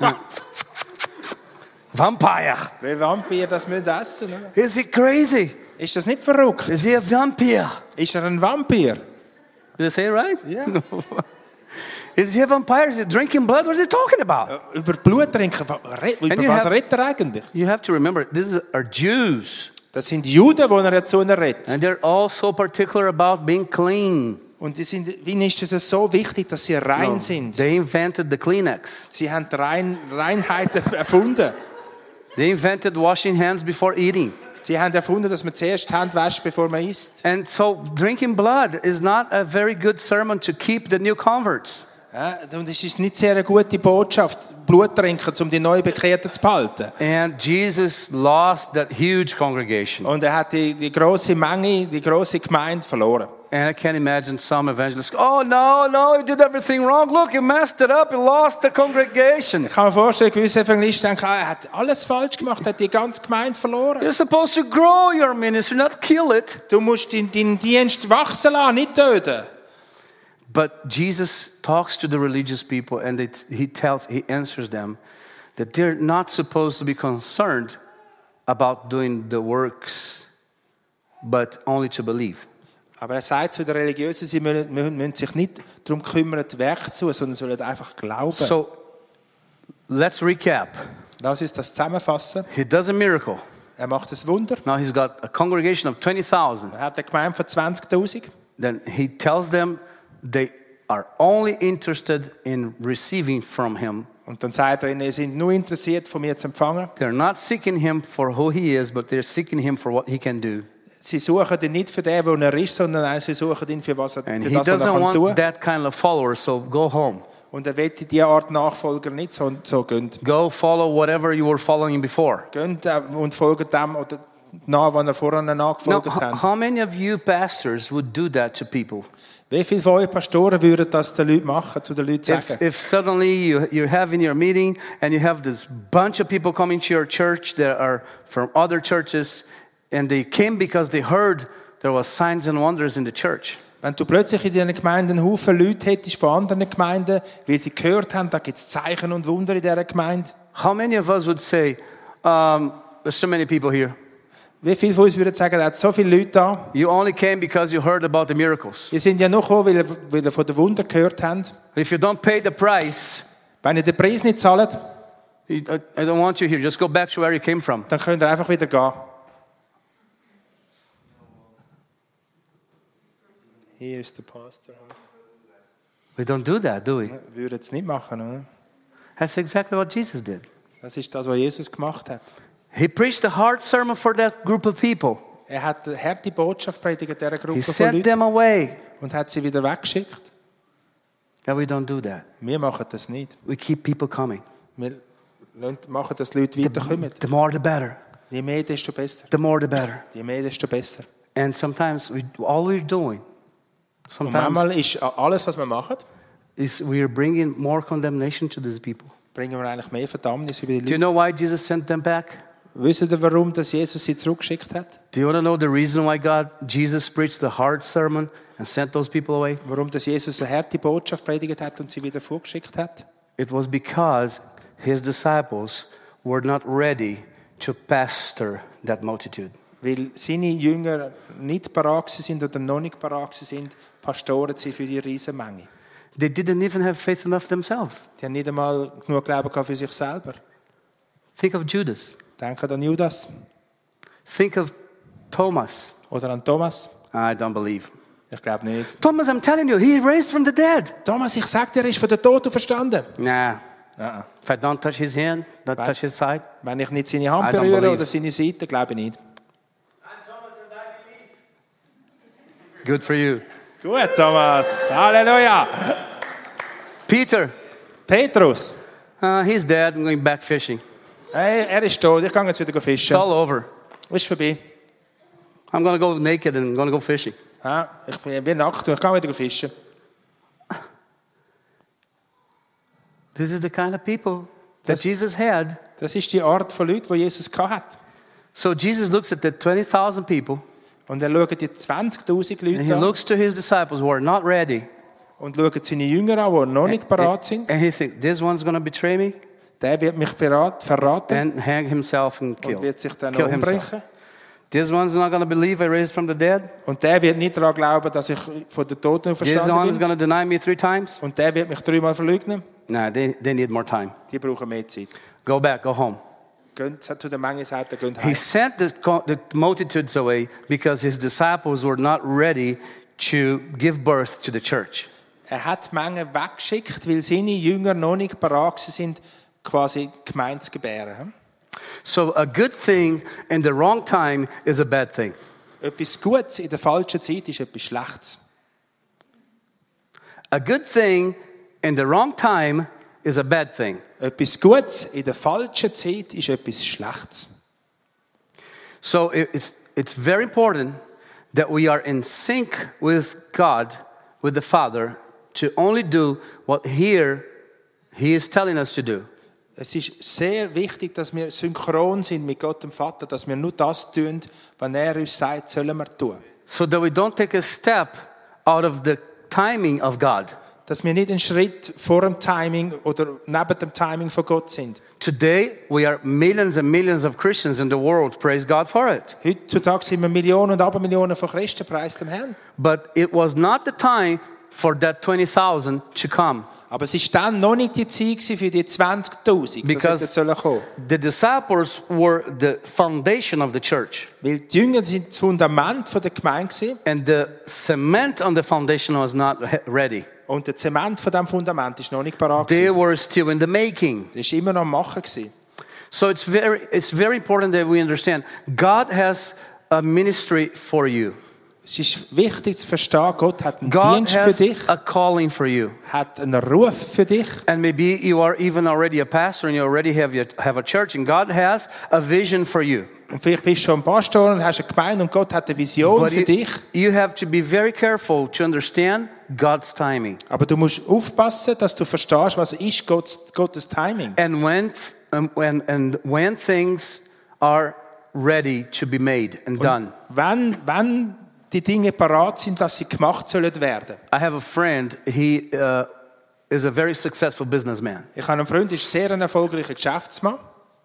Vampire. Wie Vampir das müssen essen. Oder? Is he crazy? Ist das nicht verrückt? Is he a vampire? Ist er ein Vampir? Did I say it right? Ja. Is he a vampire? Is he drinking blood? What is he talking about? Über Blut trinken, wa- re- über you was have- redet er eigentlich? You have to remember, these are Jews. Das sind Juden, die er jetzt so redet. And they're all so particular about being clean. Und die sind, wie ist es so wichtig, dass sie rein No, sind? they invented the Kleenex. Sie haben die Rein, Reinheit erfunden. They invented washing hands before eating. Sie haben erfunden, dass man zuerst die Hände wäscht, bevor man isst. And so drinking blood is not a very good sermon to keep the new converts. Ja, und es ist nicht sehr eine gute Botschaft, Blut trinken, um die Neubekehrten zu behalten. And Jesus lost that huge congregation. Und er hat die, die große Menge, die große Gemeinde verloren. And I can't imagine some evangelists, oh no, no, he did everything wrong. Look, he messed it up. He lost the congregation. Ich kann mir vorstellen, gewisse Evangelisten denken, ah, er hat alles falsch gemacht, er hat die ganze Gemeinde verloren. You're supposed to grow your ministry, not kill it. Du musst deinen, deinen Dienst wachsen lassen, nicht töten. But Jesus talks to the religious people and it, he tells, he answers them that they're not supposed to be concerned about doing the works, but only to believe. Aber er sagt zu den Religiösen, sie müssen, müssen, müssen sich nicht darum kümmern, die Werke zu tun, sondern sollen einfach glauben. So, let's recap. Lass uns das zusammenfassen. He does a miracle. Er macht ein Wunder. Now he's got a congregation of twenty thousand. Er hat eine Gemeinde von zwanzigtausend. Then he tells them they are only interested in receiving from him. Und dann sagt er ihnen, sie sind nur interessiert, von mir zu empfangen. They're not seeking him for who he is, but they're seeking him for what he can do. Sie suchen ihn nicht für den, wo er ist, sondern sie suchen ihn für, was er, And für he das, was er doesn't kann want tun. that kind of follower, so go home. Und er will diese Art Nachfolger nicht so, so gehen. Go follow whatever you were following before. Gehen und folgen dem oder nach, was er vorher Now, nachgefolgt h- hat. how many of you pastors would do that to people? Wie viele von euch Pastoren würden das den Leuten machen, zu den Leuten If, sagen? if suddenly you, you're having your meeting and you have this bunch of people coming to your church that are from other churches and they came because they heard there was signs and wonders in the church. Wenn du plötzlich in deiner Gemeinde einen Haufen Leute hättest von anderen Gemeinden, weil sie gehört haben, da gibt es Zeichen und Wunder in dieser Gemeinde. How many of us would say, um, there's so many people here. Wie viele von uns würden sagen, da hat so viele Leute da. You only came because you heard about the miracles. Wir sind ja nur gekommen, weil ihr, weil ihr von den Wundern gehört habt. If you don't pay the price, Wenn ihr den Preis nicht zahlt, you- I I don't want you here. Just go back to where you came from. dann könnt ihr einfach wieder gehen. Hier ist der Pastor. We don't do that, do we? Wir würden es nicht machen, oder? That's exactly what Jesus did. Das ist das, was Jesus gemacht hat. He preached a hard sermon for that group of people. Er hat eine harte Botschaft predigt dieser Gruppe He von sent Leuten them away. und hat sie wieder weggeschickt. But we don't do that. Wir machen das nicht. We keep people coming. Wir lassen- machen, dass die Leute weiterkommen. The more the better. Je mehr, desto besser. The more the better. Je mehr, desto besser. And sometimes we, all we're doing, Und sometimes, manchmal ist alles, was wir machen, is we are bringing more condemnation to these people. bringen wir eigentlich mehr Verdammnis über die Do you Leute. know why Jesus sent them back? Wisst ihr, warum dass Jesus sie zurückgeschickt hat? Do you want to know the reason why God, Jesus preached the hard sermon and sent those people away? Warum dass Jesus eine harte Botschaft predigt hat und sie wieder vorgeschickt hat? It was because his disciples were not ready to pastor that multitude. Weil seine Jünger nicht parat sind oder noch nicht parat sind, Pastoren sie für die Riesenmenge. They didn't even have faith enough themselves. Die haben nicht einmal genug Glauben gehabt für sich selber. Think of Judas. Denkt an Judas Think of Thomas. oder an Thomas. I don't believe. Ich glaube nicht. Thomas, I'm telling you, he raised from the dead. Thomas, ich sag dir, er ist von den Toten verstanden. Nah. Nein. If I don't touch his hand, not Right. touch his side. Wenn ich nicht seine Hand I don't berühre believe. oder seine Seite, glaube ich nicht. Good for you. Gut, Thomas. Halleluja. Peter, Petrus. uh, he's dead. I'm going back fishing. Hey, er ist tot. Ich kann jetzt wieder It's fischen. all over. Ist vorbei. I'm going to go naked and I'm going to go fishing. Ja, ich bin, bin nackt und ich kann wieder fischen. This is the kind of people that Das- Jesus had. Das ist die Art von Leuten, die Jesus hat. So Jesus looks at the twenty thousand people Und er schaut die zwanzigtausend and he Leute an looks to his disciples who are not ready. und schaut seine Jünger an, die noch nicht parat sind. And he thinks, this one's going to betray me Der wird mich verrat- verraten and hang himself and kill, und wird sich dann kill himself. umbringen. This one's not going to believe I raised from the dead. Und der wird nicht daran glauben, dass ich von den Toten This verstanden one's bin. going to deny me three times. Und der wird mich dreimal verleugnen. Nah, they, they need more time. Die brauchen mehr Zeit. Go back, go home. Geht zu der Menge, sagt er, geht He heim. sent the, co- the multitudes away because his disciples were not ready to give birth to the church. Er hat die Menge weggeschickt, weil seine Jünger noch nicht parat sind, quasi Gemeinde zu gebären. So a good thing in the wrong time is a bad thing. Etwas Gutes in der falschen Zeit ist etwas Schlechtes. A good thing in the wrong time is a bad thing. Etwas Gutes in der falschen Zeit ist etwas Schlechtes. So it- it's, it's very important that we are in sync with God, with the Father, to only do what here He is telling us to do. Es ist sehr wichtig, dass wir synchron sind mit Gott dem Vater, dass wir nur das tun, was er uns sagt, sollen wir tun. So that we don't take a step out of the timing of God. dass wir nicht einen Schritt vor dem Timing oder neben dem Timing von Gott sind. Today, we are millions and millions of Christians in the world. Praise God for it. Heutzutage sind wir Millionen und Abermillionen von Christen, preis dem Herrn. But it was not the time for that twenty thousand to come. Aber es war dann noch nicht die Zeit für die zwanzigtausend, Because die kommen. the disciples were the foundation of the church. Weil die Jünger sind das Fundament der Gemeinde gewesen. And the cement on the foundation was not he- ready. Und der Zement von diesem Fundament ist noch nicht parat They gewesen. were still in the making. Das war immer noch am Machen gewesen. So it's very, it's very important that we understand God has a ministry for you. Es ist wichtig zu verstehen, Gott hat einen God Dienst für has dich, a calling for you. hat einen Ruf für dich. And maybe you are even already a pastor and you already have, your, have a church and God has a vision for you. Und vielleicht bist du schon ein Pastor und hast eine Gemeinde und Gott hat eine Vision But für you, dich. you have to be very careful to understand God's timing. Aber du musst aufpassen, dass du verstehst, was ist Gottes, Gottes Timing. And when, th- um, when, and when things are ready to be made and done. Wenn, wenn die Dinge parat sind, dass sie gemacht sollen werden. I have a friend, he uh, is a very successful businessman. Ich habe einen Freund, der ist sehr ein erfolgreicher Geschäftsmann.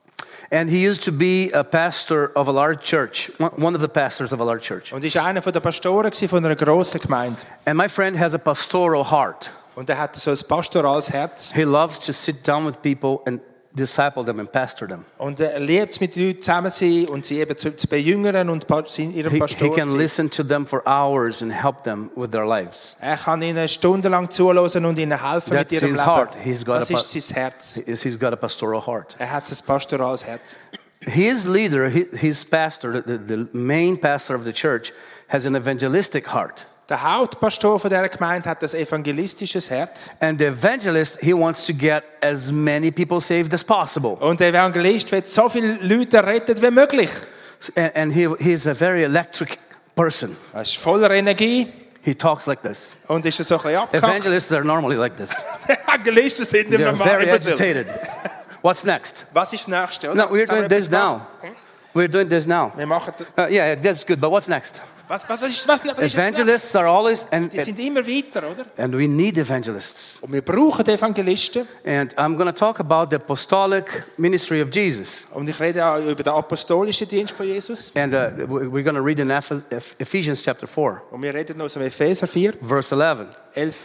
And he used to be a pastor of a large church, one one of the pastors of a large church. Und er war einer der Pastoren von einer grossen Gemeinde. And my friend has a pastoral heart. Und er hat so ein pastorales Herz. He loves to sit down with people and disciple them and pastor them. Und er liebt es, mit Leuten zusammen zu sein und sie eben zu, zu bejüngern und pa- in ihrem He, Pastor he can zu sein. listen to them for hours and help them with their lives. Er kann ihnen stundenlang zuhören und ihnen helfen That's mit ihrem his Leben. heart. He's got Das a pa- ist sein Herz. He- He's got a pastoral heart. Er hat ein pastorales Herz. His leader, his, his pastor, the, the main pastor of the church, has an evangelistic heart. Der Hauptpastor von dieser Gemeinde hat ein evangelistisches Herz. And the evangelist, he wants to get as many people saved as possible. Und der Evangelist will so viele Leute retten wie möglich. And, and he, he's a very electric person. Er ist voller Energie He talks like this. und ist so ein bisschen abgehackt. Evangelists are normally like this. Evangelisten sind They're immer mal very immer so. agitated. What's next? Was ist das Nächste? Oder? No, we're Jetzt haben doing wir this etwas now. gemacht. We're doing this now. Wir machen das. Uh, yeah, that's good. But what's next? Was, was, was, ist, was, was ist jetzt Evangelists are always, and, Die sind immer weiter, oder? and we need evangelists. Und wir brauchen Evangelisten. And I'm going to talk about the apostolic ministry of Jesus. Und ich rede auch über den apostolischen Dienst von Jesus. And uh, we're going to read in Eph- Eph- Ephesians chapter four, Und wir reden aus dem Epheser vier, verse eleven, elf.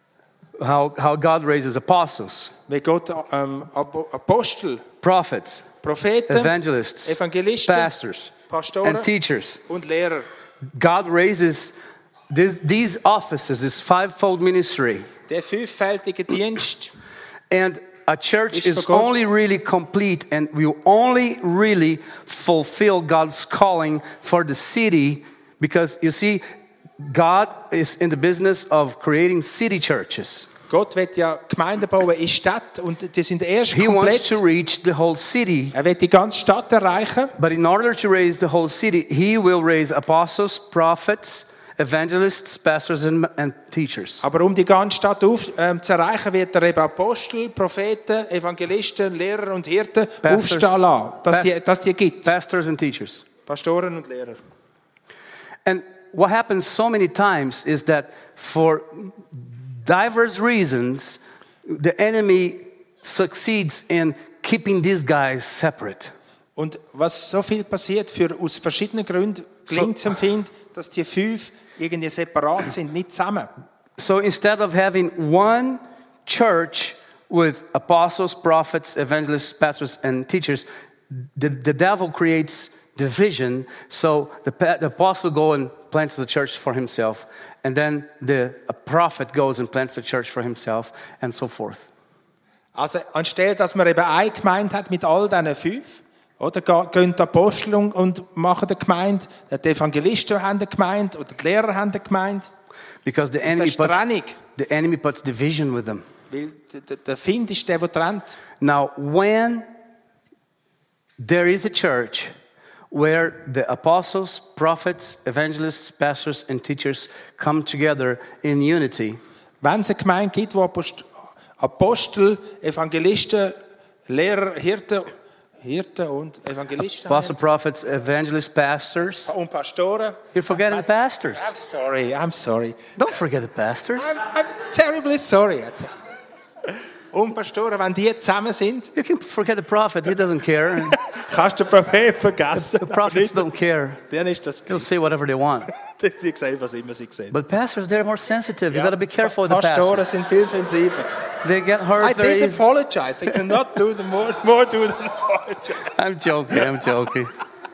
how, how God raises apostles, Wie Gott ähm, Apo- Apostel, prophets, Propheten, evangelists, Evangelisten, pastors, Pastoren and teachers. und Lehrer. God raises this, these offices, this fivefold ministry. Der fünffältige Dienst. And a church Ist is für Gott. only really complete and will only really fulfill God's calling for the city because you see, God is in the business of creating city churches. Gott wird ja Gemeinden bauen in Stadt und die sind erst He wants to komplett. reach the whole city. Er wird die ganze Stadt erreichen. But in order to raise the whole city, he will raise apostles, prophets, evangelists, pastors, and, and teachers. Aber um die ganze Stadt auf, ähm, zu erreichen, wird er eben Apostel, Propheten, Evangelisten, Lehrer und Hirten Pastors. aufstehen lassen, dass Past- die, dass die gibt. Pastors and teachers. Pastoren und Lehrer. And what happens so many times is that for diverse reasons, the enemy succeeds in keeping these guys separate. Und was so viel passiert, für, aus verschiedenen Gründen gelingt es empfinden, dass die fünf irgendwie separat sind, nicht zusammen. So instead of having one church with apostles, prophets, evangelists, pastors, and teachers, the, the devil creates division. So the, pa- the apostle goes and plants the church for himself, and then the a prophet goes and plants the church for himself, and so forth. Also anstelle, dass man eben eine Gemeinde hat mit all diesen fünf, oder ga- gehen die Apostel und- und machen eine Gemeinde, die Evangelisten haben eine Gemeinde oder die Lehrer haben eine Gemeinde. Because the Das enemy ist puts, Trennung, the enemy puts division with them. weil der- der- der Find ist der, der trennt. Now, when there is a church where the apostles, prophets, evangelists, pastors, and teachers come together in unity, Wenn es eine Gemeinde gibt, wo Apost- Apostel, Evangelisten, Lehrer, Hirten Hirten und Evangelisten. Apostle, prophets, evangelists, pastors. Und Pastoren. You're forgetting the pastors. I'm sorry, I'm sorry. Don't forget the pastors. I'm, I'm terribly sorry. Und Pastoren, wenn die zusammen sind, You can forget the prophet. He doesn't care. kannst du den Prophet vergessen. The prophets don't care. Dann ist das They'll say whatever they want. Sie sehen, was immer sie sehen. But pastors, they're more sensitive. You got to be careful with the Pastoren pastors. sind viel sensibler. They get hurt I very did easy. apologize. I cannot do the more, more do than apologize. I'm joking. I'm joking.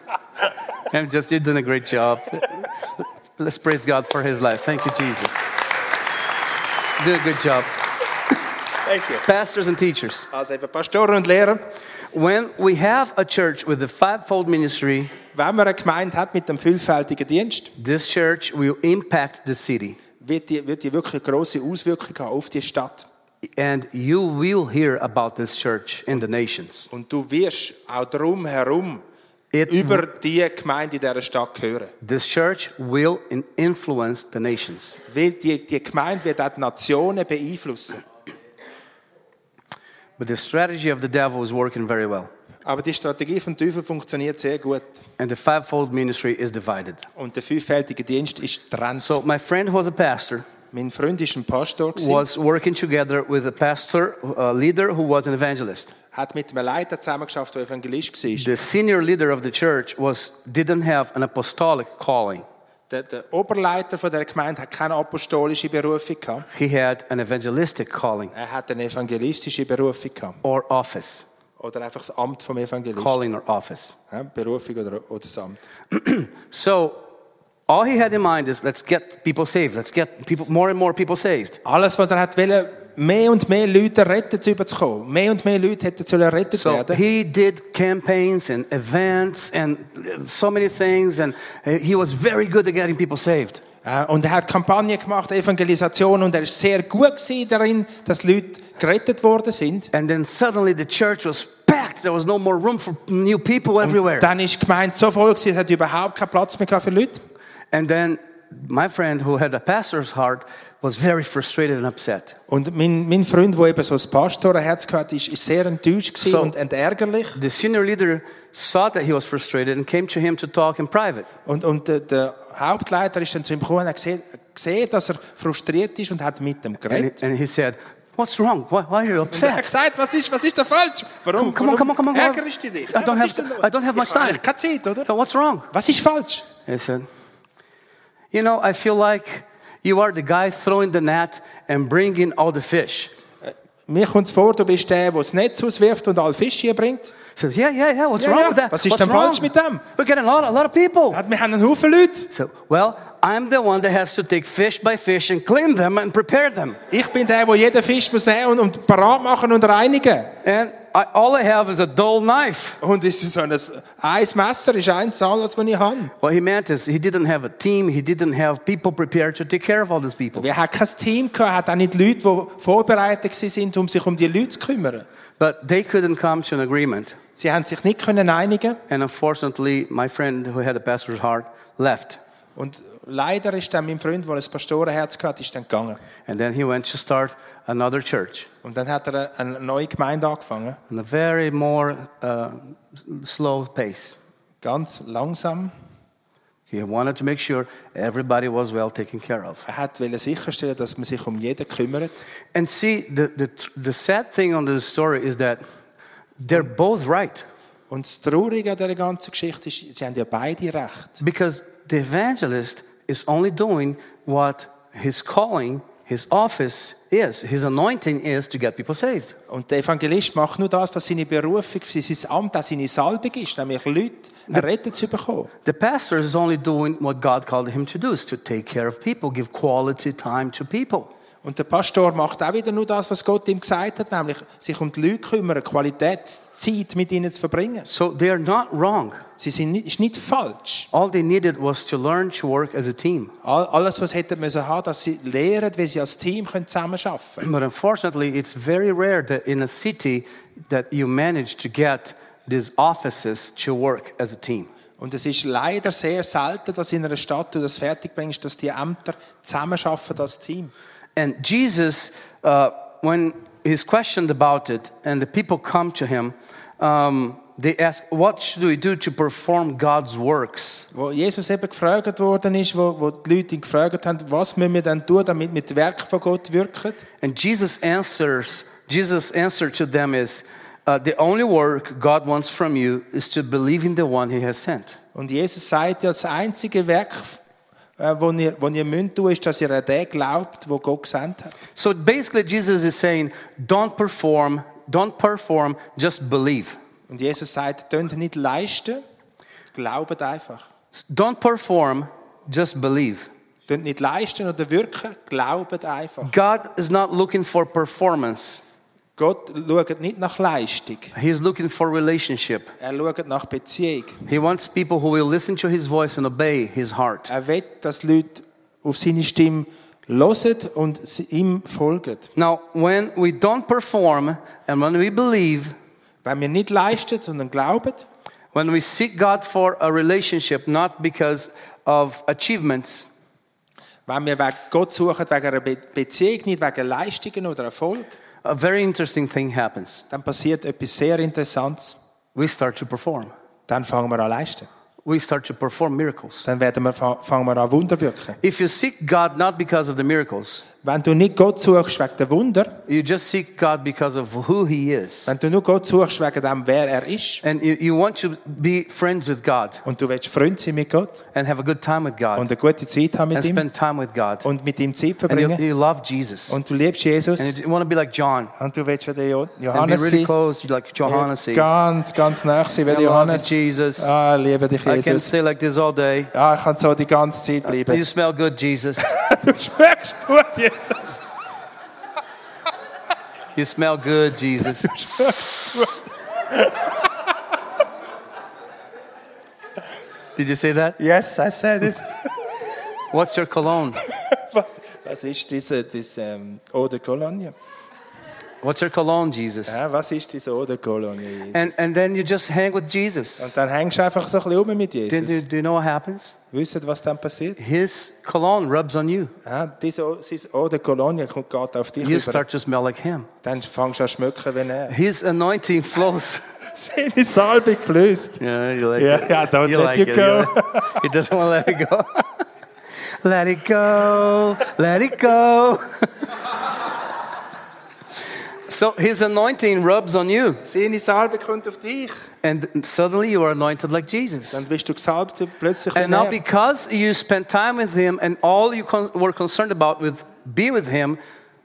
I'm just, you're doing a great job. Let's praise God for his life. Thank you, Jesus. You're doing a good job. Thank you. Pastors and teachers. Also eben Pastoren und Lehrer. When we have a church with a fivefold ministry, Wenn man eine Gemeinde hat mit einem vielfältigen Dienst, this church will impact the city. wird die, wird die wirklich eine grosse Auswirkung haben auf die Stadt. And you will hear about this church in the nations. Und du wirst auch drum herum It, über die Gemeinde in dieser Stadt hören. this church will in- influence the nations. Weil die, die Gemeinde wird auch die Nationen beeinflussen. But the strategy of the devil is working very well. Aber die Strategie vom Teufel funktioniert sehr gut. And the fivefold ministry is divided. Und der vielfältige Dienst ist getrennt. So my friend who was a pastor Mein Freund war ein Pastor, gewesen, was working together with a pastor, a leader who was an evangelist. hat mit einem Leiter zusammengeschafft, der Evangelist war. The senior leader of the church was didn't have an apostolic calling. Der, der Oberleiter von der Gemeinde hat keine apostolische Berufung gehabt. He had an evangelistic calling Er hat eine evangelistische Berufung gehabt. or office. Oder einfach das Amt vom Evangelisten. Calling or office. Ja, Berufung oder, oder das Amt. So all he had in mind is let's get people saved. Let's get people more and more people saved. Alles, was er hat wollte, mehr und mehr Leute retten zu überzukommen. Mehr und mehr Leute hätten sollen errettet So werden. he did campaigns and events and so many things, and he was very good at getting people saved. Äh, Und er hat Kampagnen gemacht, Evangelisation, und er ist sehr gut gewesen darin, dass Leute gerettet worden sind. And then suddenly the church was packed. There was no more room for new people everywhere. Dann ist die Gemeinde so voll gewesen, es hat überhaupt keinen Platz mehr gehabt für Leute. And then my friend who had a pastor's heart was very frustrated and upset. Und mein, mein Freund, der eben so ein Pastorenherz hatte, ist, ist sehr enttäuscht gewesen So- und, und ärgerlich. The senior leader saw that he was frustrated and came to him to talk in private. Und, und der, der Hauptleiter ist dann zu ihm gekommen und hat gesehen, gesehen, dass er frustriert ist und hat mit ihm And geredet. he, and he said, "What's wrong? Why, why are you Und er hat upset? gesagt, was ist, was ist da falsch? Warum, Come on, come on, come on, come on. ärgerst du dich? I don't was have- ist denn los? I don't have much Ich habe time. eigentlich keine Zeit, oder? So what's wrong?" Was ist falsch? He said, "You know, I feel like you are the guy throwing the net and bringing all the fish." Mir kommt es vor, du bist der, der das Netz auswirft und alle Fische bringt. He says, "Yeah, yeah, yeah. What's Ja, wrong ja. with that? Was ist What's denn wrong? falsch mit dem? We're getting a lot, a lot of people." Ja, wir haben einen Haufen Leute. So, well, I'm the one that has to take fish by fish and clean them and prepare them. Ich bin der, der jeden Fisch muss nehmen und, und parat machen und reinigen. And I, all I have is a dull knife. Und es ist so ein, ein Messer ist eins alles, was ich habe. What he meant is he didn't have a team. He didn't have people prepared to take care of all these people. Wir hatten kein Team, gehabt, hat auch nicht Leute, die vorbereitet waren, um sich um die Leute zu kümmern. But they couldn't come to an agreement. Sie haben sich nicht können einigen. And unfortunately, my friend who had a pastor's heart left. Und leider ist dann mein Freund, der ein Pastorenherz hatte, ist dann gegangen. And then he went to start another church. Und dann hat er eine neue Gemeinde angefangen. On a very more uh, slow pace. Ganz langsam. He wanted to make sure everybody was well taken care of. Er wollte sicherstellen, dass man sich um jeden kümmert. And see, the, the, the sad thing on this story is that they're both right. Und das Traurige an dieser ganzen Geschichte ist, sie haben ja beide recht. Because the evangelist is only doing what his calling, his office is. His anointing is to get people saved. Und der Evangelist macht nur das, was seine Berufung, sein Amt, auch seine Salbung ist, nämlich Leute errettet zu bekommen. The pastor is only doing what God called him to do, is to take care of people, give quality time to people. Und der Pastor macht auch wieder nur das, was Gott ihm gesagt hat, nämlich sich um die Leute kümmern, Qualitätszeit mit ihnen zu verbringen. So they are not wrong. Sie sind nicht, ist nicht falsch. All they needed was to learn to work as a team. All, alles, was hätten müssen haben, dass sie lernen, wie sie als Team können zusammenarbeiten können. But unfortunately, it's very rare that in a city that you manage to get these offices to work as a team. Und es ist leider sehr selten, dass in einer Stadt du das fertigbringst, dass die Ämter zusammenarbeiten als Team. And Jesus, uh, when he's questioned about it and the people come to him, um, they ask, what should we do to perform God's works? Wo Jesus eben gefragt worden ist, wo, wo die Leute ihn gefragt haben, was müssen wir denn tun, damit wir das Werk von Gott wirken? And Jesus answers, Jesus' answer to them is, uh, the only work God wants from you is to believe in the one He has sent. Und Jesus sagt ja, das einzige Werk, äh, wo ihr, wo ihr müsst tun, ist, dass ihr an den glaubt, wo Gott gesandt hat. So basically Jesus is saying, don't perform, don't perform, just believe. Und Jesus sagt, könnt nicht leisten, glaubt einfach. Don't perform, just believe. Könnt nicht leisten oder wirken, glaubt einfach. God is not looking for performance. Gott schaut nicht nach Leistung. He is looking for relationship. Er schaut nach Beziehung. He wants people who will listen to His voice and obey His heart. Er will, dass Leute auf seine Stimme hören und ihm folgen. Now, when we don't perform and when we believe, Wenn wir nicht leisten, sondern glauben, when we seek God for a relationship, not because of achievements, wenn wir Gott suchen wegen einer Be- Beziehung, nicht wegen Leistungen oder Erfolg, a very interesting thing happens. dann passiert etwas sehr Interessantes. We start to perform. Dann fangen wir an leisten. We start to perform miracles. Dann werden wir, fangen wir an Wunder wirken. If you seek God not because of the miracles, Wenn du nicht Gott suchst wegen der Wunder, you just seek God because of who He is. wenn du nur Gott suchst wegen dem, wer er ist, And you, you want to be friends with God und du willst Freund sein mit Gott and have a good time with God und eine gute Zeit haben mit and ihm spend time with God. und mit ihm Zeit And you, verbringen you love Jesus. und du liebst Jesus And you want to be like John und du willst wie der Jo- and be Johannes really sein, close, you like Johannes. say, ganz, ganz nah sein wie I der love Johannes. you, Jesus. Ah, liebe dich, I can Jesus. stay like this all day. Ja, ich kann so die ganze Zeit bleiben. You smell good, Jesus. Du schmeckst gut, Jesus. You smell good, Jesus. Du schmeckst gut. Did you say that? Yes, I said it. What's your cologne? Was, was ist diese, diese ähm, Eau de Cologne? What's your cologne, Jesus? Ja, was ist diese Eau de Cologne, Jesus? And, and then you just hang with Jesus. Und dann hängst du einfach so ein bisschen rum mit Then do, Jesus. do you know what happens? Wisst ihr, was dann passiert? His cologne rubs on you. Ja, diese Eau- diese Eau de Cologne kommt gerade auf dich You rüber. start to smell like Him. Dann fängst du an zu schmecken wie er. His anointing flows. Seine Salbe geflößt. Yeah, you like Yeah, it. yeah, don't You let like you it. go. You like- He doesn't want to let it go. Let it go. Let it go. So his anointing rubs on you, Seine Salbe kommt auf dich. and suddenly you are anointed like Jesus. Dann bist du gesalbt plötzlich wie And now er. because you spent time with Him and all you con- were concerned about with be with Him,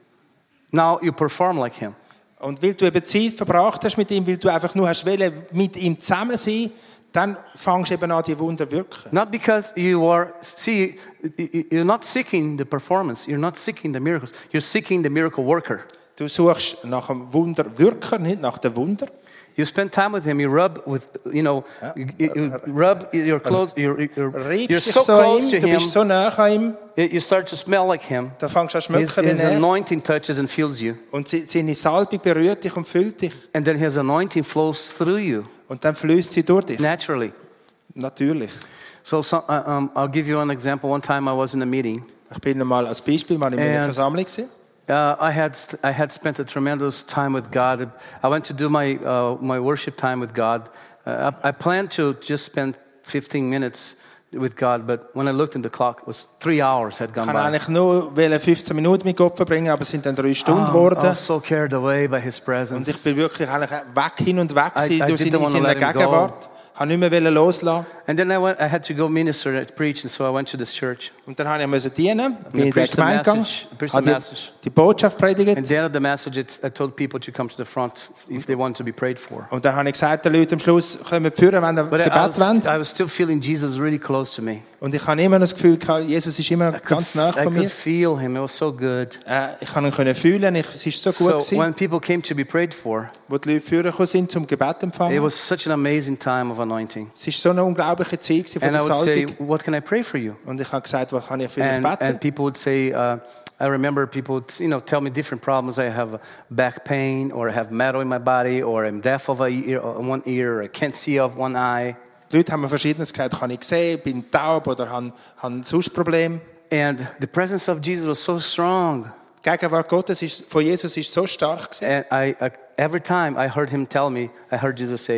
now you perform like Him. Und weil du eben Zeit verbracht hast mit ihm, weil du einfach nur hast wollen, mit ihm zusammen sein, dann fängst du eben an, die Wunder zu wirken. Not because you are, see, you're not seeking the performance, you're not seeking the miracles, you're seeking the miracle worker. Du suchst nach dem Wunderwirker, nicht nach dem Wunder. You spend time with Him, you rub with, you know, you, you rub your clothes, you're, you're, you're Reibst dich so so an close ihm, to du Him, bist so nah an ihm, you you start to smell like Him. dann fängst du an zu His, schmecken his wie er. anointing touches and fills you. Und sie- seine Salbung berührt dich und füllt dich. And then His anointing flows through you Und dann fließt sie durch dich. naturally. Natürlich. So, so uh, um, I'll give you an example. One time I was in a meeting. Ich bin einmal als Beispiel mal in einer And- Versammlung gewesen. Uh, I had st- I had spent a tremendous time with God. I went to do my uh, my worship time with God. Uh, I, I planned to just spend fifteen minutes with God, but when I looked in the clock, it was three hours had Ich gone wollte by. eigentlich nur wollen fünfzehn Minuten mit Gott verbringen, aber es sind dann drei Stunden Oh, I geworden. was so carried away by His Und ich presence. bin wirklich eigentlich weg hin und weg I- gewesen I durch didn't seine, wanna seine let him go. Gegenwart. Ich wollte nicht mehr loslassen. And then I went. I had to go minister and preach, and so I went to this church. Und dann habe ich müssen dienen, bin I in der preached the Gemeinde gegangen, message- preached the habe message. die, die Botschaft predigt. At the end of the message, it's, I told people to come to the front if they want to be prayed for. Und dann habe ich gesagt den Leuten am Schluss, kommen führen, wenn ihr But I, I, Gebet was, wollt. I was still feeling Jesus really close to me. Und ich habe immer das Gefühl gehabt, Jesus ist immer I could, ganz nah I von mir. could feel Him. It was so good. Äh, ich kann ihn können fühlen, ich, es ist so gut So gewesen, when people came to be prayed for, wo die Leute führen gekommen sind zum Gebet it empfangen. was such an amazing time of anointing. Es ist so eine unglaubliche Zeit gewesen von And I der would say, Salbung. what can I pray for you? Und ich habe gesagt, was kann ich für dich And, beten? and people would say, uh, I remember people would, you know, tell me different problems. I have back pain, or I have metal in my body, or I'm deaf of a ear, one ear, or I can't see of one eye. Die Leute haben mir Verschiedenes gesagt, kann ich sehen, bin taub oder habe, habe sonst Probleme. And the presence of Jesus was so strong. Die Gegenwart Gottes ist, von Jesus ist so stark gewesen. And I, I, every time I heard Him tell me, I heard Jesus say,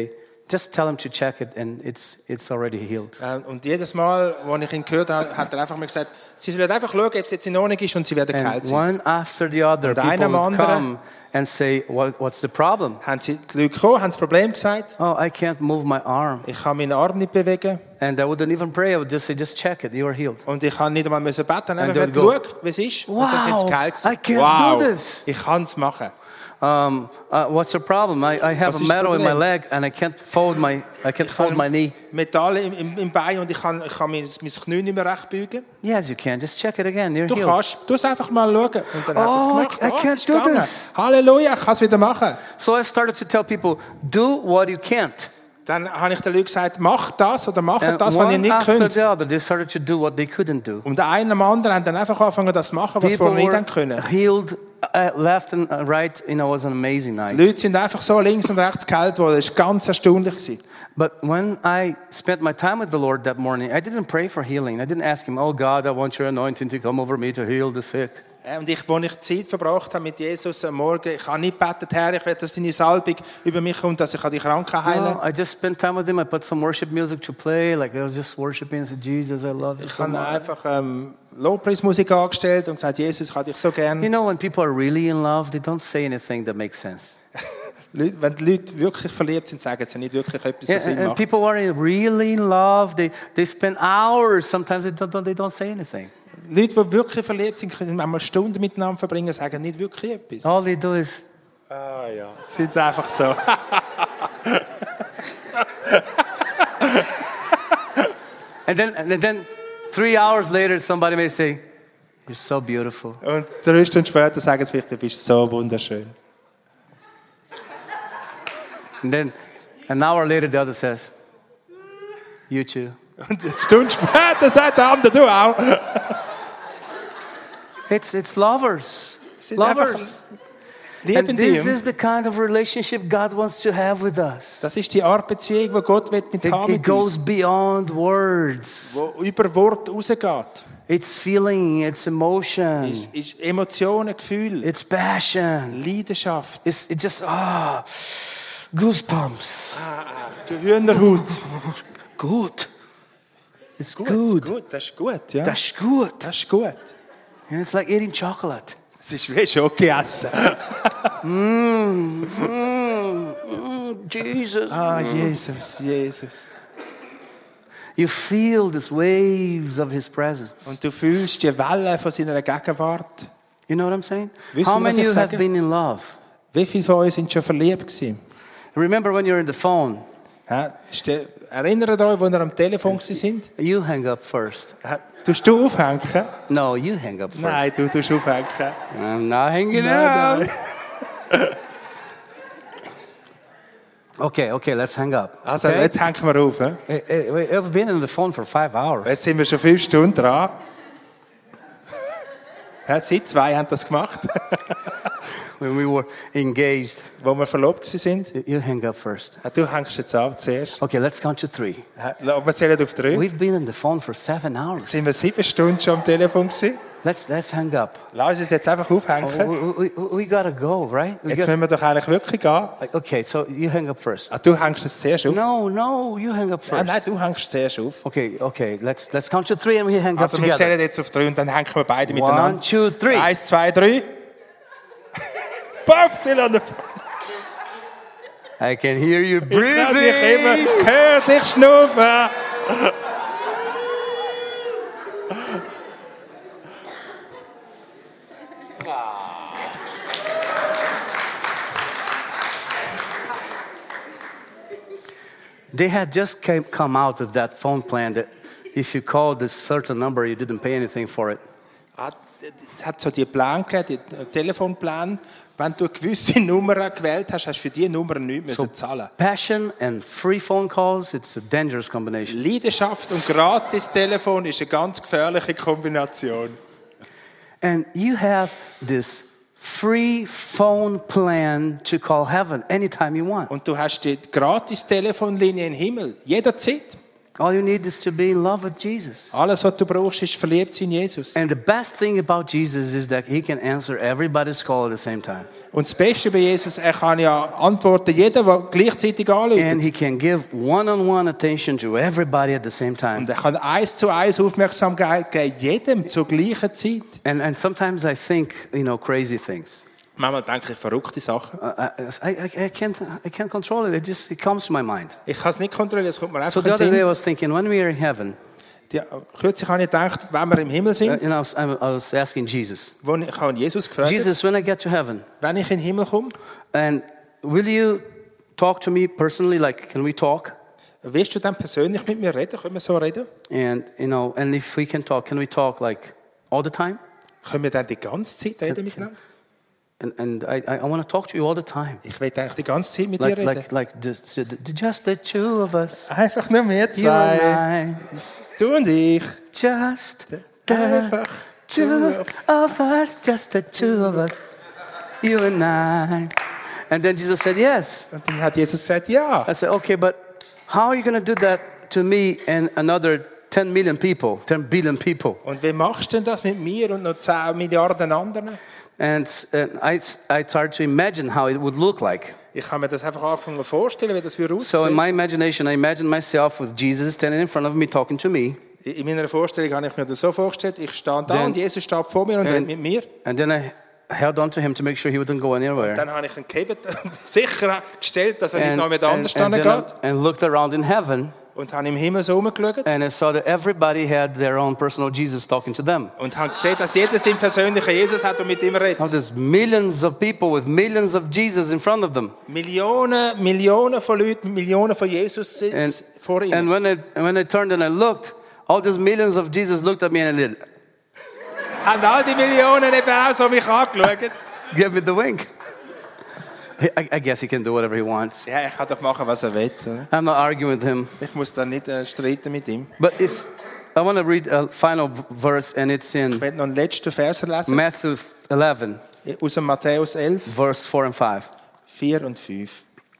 just tell him to check it, and it's it's already healed. Äh, Und jedes Mal, als ich ihn gehört habe, hat er einfach mir gesagt, sie sollen einfach schauen, ob es jetzt in Ordnung ist und sie werden geheilt And sein. one after the other, Und people einer am would anderen- come and say, what, what's the problem? Haben sie die Leute gekommen, haben das Problem gesagt, Oh, I can't move my arm. ich kann meinen Arm nicht bewegen And I wouldn't even pray. I would just say, just check it. You are healed. und ich kann nicht einmal müssen beten, And einfach they'd schau, go, wie es ist. Wow, und dann sind sie geheilt I gewesen. can't Wow, do this. ich kann es machen. Um, uh, what's your problem? I, I have Was a ist das metal in my Problem? leg and I can't fold my I can't fold my knee. Metall im, im, im Bein und ich kann, ich kann mein, mein Knie nicht mehr recht beugen. Yes, you can. Just check it again. You're Du healed. kannst, du es einfach mal schauen. Und dann Oh, hat er es gemacht. I- I Oh, es can't ist do gegangen. this. Halleluja, ich kann es wieder machen. So I started to tell people, do what you can't. Dann habe ich den Leuten gesagt, mach das oder mach And das, was ihr one nicht after könnt. the other, they started to do what they couldn't do. Und der eine am anderen haben dann einfach angefangen, das zu machen, was sie People vorher nicht were haben können. healed uh, left and uh, right. You know, it was an amazing night. Die Leute sind einfach so links und rechts geheilt worden. Das war ganz erstaunlich gewesen. But when I spent my time with the Lord that morning, I didn't pray for healing. I didn't ask him, oh God, I want your anointing to come over me to heal the sick. Äh, Und ich, als ich Zeit verbracht habe mit Jesus am Morgen, ich habe nicht gebetet, Herr, ich will, dass deine Salbung über mich kommt, dass ich die Kranken heilen No, kann. I just spent time with him. I put some worship music to play. Like I was just worshiping and said, Jesus, I love you Ich so habe much. einfach ähm, Lobpreismusik angestellt und gesagt, Jesus, ich habe dich so gern. You know, when people are really in love, they don't say anything that makes sense. Leute, wenn die Leute wirklich verliebt sind, sagen sie nicht wirklich etwas, Yeah, was Sinn and macht. people who are in- really in love, they, they spend hours. Sometimes they don't, they don't say anything. Leute, die wirklich verliebt sind, können einmal Stunden miteinander verbringen, sagen nicht wirklich etwas. All they do is, Ah ja, sie sind einfach so. and then, and then three hours later, somebody may say, you're so beautiful. Und drei Stunden später sagen sie vielleicht, du bist so wunderschön. And then an hour later, the other says, you too. Und eine Stunde später sagt der andere, du auch. It's, it's lovers. Sind einfach Lovers. lieben And this die. is the kind of relationship God wants to have with us. Das ist die Art Beziehung, die Gott will mit It, haben it mit goes uns. beyond words. Wo über Wort rausgeht. It's feeling, it's emotion, Ist, ist Emotionen, Gefühl, it's passion. Leidenschaft, It's it just ah goosebumps. Hühnerhaut. Good. It's Gut, good. gut, das ist gut, ja. That's good. Das ist gut. And it's like eating chocolate. Es ist wie Schoki essen. Mm, mm, Jesus. Ah, Jesus, Jesus. You feel these waves of His presence. Und du fühlst die Welle von seiner Gegenwart. You know what I'm saying? Wissen How Sie, was many ich of you have sage? been in love? Wie viele von uns sind schon verliebt gewesen? Remember when you're in the phone? Ja, ste- erinnert euch, als ihr am Telefon sind? You hang up first. Ja, tust du aufhängen? No, you hang up first. Nein, du tust aufhängen. I'm not hanging Nein, up. nein. Okay, okay, let's hang up. Also, okay? jetzt hängen wir auf. He? Eh, eh, wait, I've been on the phone for five hours. Jetzt sind wir schon fünf Stunden dran. Ja, Sie zwei haben das gemacht, When we were engaged, wo wir verlobt sind. you- you hang up first. Ja, du hängst jetzt ab zuerst. Okay, let's count to three. Ja, wir zählen auf drei. We've been on the phone for seven hours. Sind wir sieben Stunden schon am Telefon gewesen? Let's let's hang up. Lass uns jetzt einfach Oh, aufhängen. we, we, we gotta go, right? We Jetzt got- müssen wir doch eigentlich wirklich gehen. okay, so you hang up first. Ah, du hängst jetzt zuerst auf. No, no, you hang up Ah, first. nein, du hängst zuerst auf. Okay, okay, let's let's count to three and we hang Also up wir together. zählen jetzt auf drei und dann hängen wir beide One, miteinander. two, three. Eins, zwei, drei. Popsil an der I can hear you Ich höre dich immer. breathing. Hör dich schnaufen. They had just came, come out with that phone plan that if you called this certain number, you didn't pay anything for it. Ah, Es hat so die Pläne gegeben, die Telefonpläne. Wenn du eine gewisse Nummer gewählt hast, hast du für diese Nummer nichts So müssen zahlen. passion and free phone calls, it's a dangerous combination. Leidenschaft und gratis Telefon ist eine ganz gefährliche Kombination. And you have this free phone plan to call heaven anytime you want. Und du hast die gratis Telefonlinie im Himmel, jederzeit. All you need is to be in love with Jesus. Alles, was du brauchst, ist verliebt sein in Jesus. And the best thing about Jesus is that he can answer everybody's call at the same time. Und das Beste bei Jesus, er kann ja antworten, jeder, der gleichzeitig And anruft. he can give one-on-one attention to everybody at the same time. Und er kann eins zu eins Aufmerksamkeit geben, jedem zur gleichen Zeit. And, and sometimes I think, you know, crazy things. Manchmal denke ich verrückte Sachen. Uh, I, I, I, can't, I can't control it. It just it comes to my mind. Ich kann es nicht kontrollieren, es kommt mir So einfach the in other den day I Sinn. was thinking, when we are in heaven, Die, kürzlich habe ich gedacht, wenn wir im Himmel uh, sind, you know, I was, I was asking Jesus, wo ich, ich habe Jesus gefragt, Jesus, when I get to heaven, wenn ich in den Himmel komme, and will you talk to me personally? Like, can we talk? willst du dann persönlich mit mir reden? Können wir so reden? And you know, and if we can talk, can we talk like all the time? Können wir dann die ganze Zeit reden miteinander? And, and I, I want to talk to you all the time. Ich will eigentlich die ganze Zeit mit Like, dir reden. like, like just, just the two of us. Einfach nur wir You and zwei. I. Du und ich. Just the Einfach two of us. Just the two of us. You and I. And then Jesus said, yes. Und dann hat Jesus gesagt, ja. I said, okay, but how are you going to do that to me and another ten million people, ten billion people? Und wie machst du denn das mit mir und noch zehn Milliarden anderen? And uh, I, I tried to imagine how it would look like. Ich habe mir das einfach angefangen vorzustellen, wie das würde So in aussehen. my imagination, I imagined myself with Jesus standing in front of me, talking to me. In meiner Vorstellung habe ich mir das so vorgestellt, ich stehe da Then- und Jesus steht vor mir und redet mit mir. And then I held on to him to make sure he wouldn't go anywhere. Dann habe ich ihn gehebt und sicher gestellt, dass er nicht And, noch mit and, anders and, then geht. I, and looked around in heaven, Und habe im Himmel so rumgeschaut and I saw that everybody had their own personal Jesus talking to them. und habe gesehen, dass jeder seinen persönlichen Jesus hat und mit ihm Now redet. there's millions of people with millions of Jesus in front of them. Millionen, Millionen von Leuten, Millionen von Jesus sitzen And, vor ihnen. and when, I, when I turned and I looked, all these millions of Jesus looked at me and did, Haben all die Millionen eben auch so mich angeschaut. give me the wink. I, I guess he can do whatever he wants. Ja, er kann doch machen, was er will. oder? I'm not arguing with him. Ich muss dann nicht äh, streiten mit ihm. But if I want to read a final v- verse, and it's Ich in werde noch einen letzten Vers lesen. Matthew eleven, Aus dem Matthäus elf, verse four and five. vier und fünf.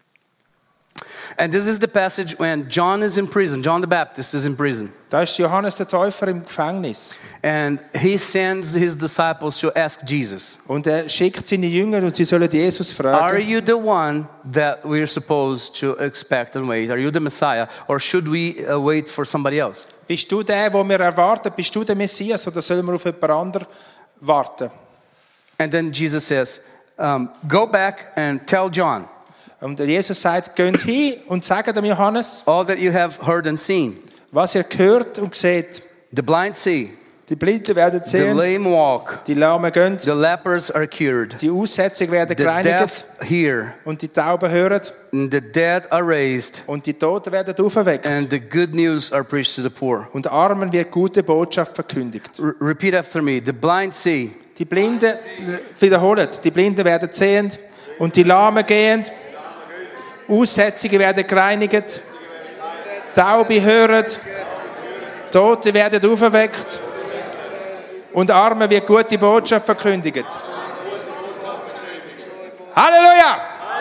And this is the passage when John is in prison. John the Baptist is in prison. Da ist Johannes der Täufer im Gefängnis. And he sends his disciples to ask Jesus, Und er schickt seine Jünger und sie sollen Jesus are fragen, you the one that we're supposed to expect and wait? Are you the Messiah? Or should we uh, wait for somebody else? bist du der, den wir erwarten? Bist du der Messias oder sollen wir auf jemand anderen warten? And then Jesus says, um, go back and tell John Und Jesus sagt, geht hin und sagt dem Johannes, all that you have heard and seen. was ihr gehört und seht. The blind see, Die Blinden werden the sehen, lame walk, die Lahmen gehen, the lepers are cured, die Aussätzigen werden the gereinigt deaf hear, und die Tauben hören and the dead are raised, und die Toten werden aufgeweckt. and the good news are preached to the poor. Und Armen wird gute Botschaft verkündigt. R- repeat after me. The blind see, Die Blinden, wiederholen, die Blinden werden sehend und die Lahmen gehend. Aussätzige werden gereinigt. Taube hören. Tote werden aufgeweckt. Und Armen wird gute Botschaft verkündigt. Halleluja!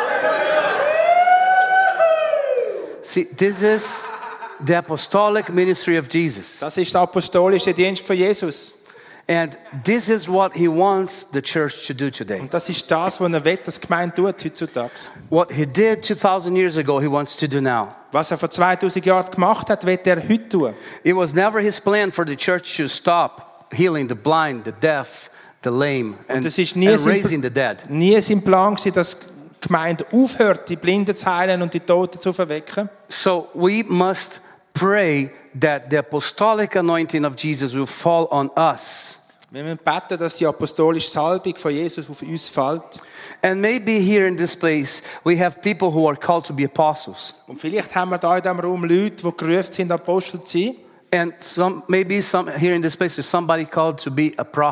see, this is the apostolic ministry of Jesus. Das ist der apostolische Dienst von Jesus. And this is what he wants the church to do today. Und das ist das, was er will, dass die Gemeinde tut heutzutage. What he did two thousand years ago, he wants to do now. Was er vor zweitausend Jahren gemacht hat, wird er heute tun. It was never his plan for the church to stop healing the blind, the deaf, the lame, and, das ist nie and sein- raising the dead. Nie sein Plan war, dass die Gemeinde aufhört, die Blinden zu heilen und die Toten zu verwecken. So we must pray that the apostolic anointing of Jesus will fall on us. Wir müssen beten, dass die apostolische Salbung von Jesus auf uns fällt. And maybe here in this place, we have people who are called to be apostles. Und vielleicht haben wir da in diesem Raum Leute, die gerufen sind, Apostel zu sein. And some, maybe some, here in this place, there's somebody called to be a prophet.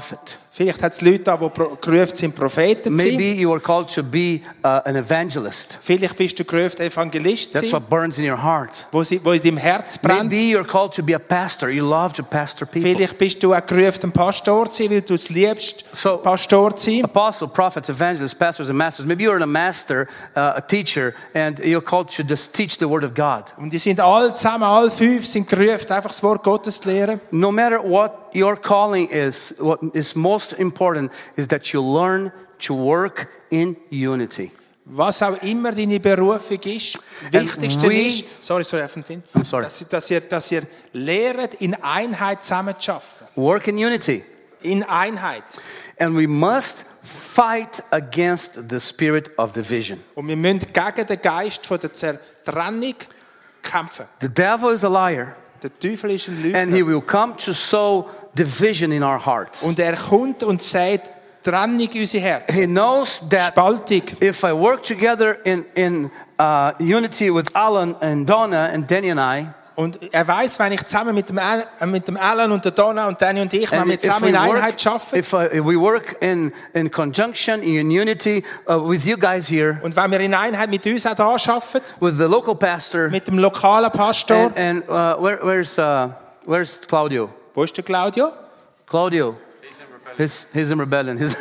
Vielleicht hat es Leute da, die pro- gerufen sind, Propheten zu Maybe sein. you are called to be uh, an evangelist. Vielleicht bist du gerufen, Evangelist zu That's sein, what burns in your heart. wo, sie, wo in deinem Herz brennt. Maybe you're called to be a pastor. You love to pastor people. Vielleicht bist du auch gerufen, ein Pastor zu sein, weil du es liebst, So- Pastor zu sein. Apostle, prophets, evangelists, pastors, and masters. Maybe you're a master, uh, a teacher, and you're called to just teach the word of God. Und die sind alle zusammen, alle fünf sind gerufen, einfach das Wort Gottes zu lehren. No matter what your calling is, what is most important is that you learn to work in unity. Was auch immer deine Berufung ist, wichtigste we- ist, sorry, sorry, Finn, I'm sorry. dass, dass, ihr, dass ihr lehrt, in Einheit zusammen zu arbeiten. Work in unity. In Einheit. And we must fight against the spirit of division. Und wir müssen gegen den Geist von der Zertrennung kämpfen. The devil is a liar, Der Teufel ist ein and he Lügner. will come to sow division in our hearts. Und er kommt und sagt, Trennung in unser Herz. He knows that Spaltung. if I work together in, in uh, unity with Alan and Donna and Danny and I, Und er weiß, wenn ich zusammen mit dem, Al- äh, mit dem Alan und der Donna und Danny und ich, wenn and wir if zusammen we in work, Einheit arbeiten, if, uh, if we work in, in conjunction, in unity uh, with you guys here, und wenn wir in Einheit mit uns auch da arbeiten, with the local pastor, mit dem lokalen Pastor, and, and uh, where, where's, uh, where's Claudio? wo ist der Claudio? Claudio. He's, he's in rebellion. He's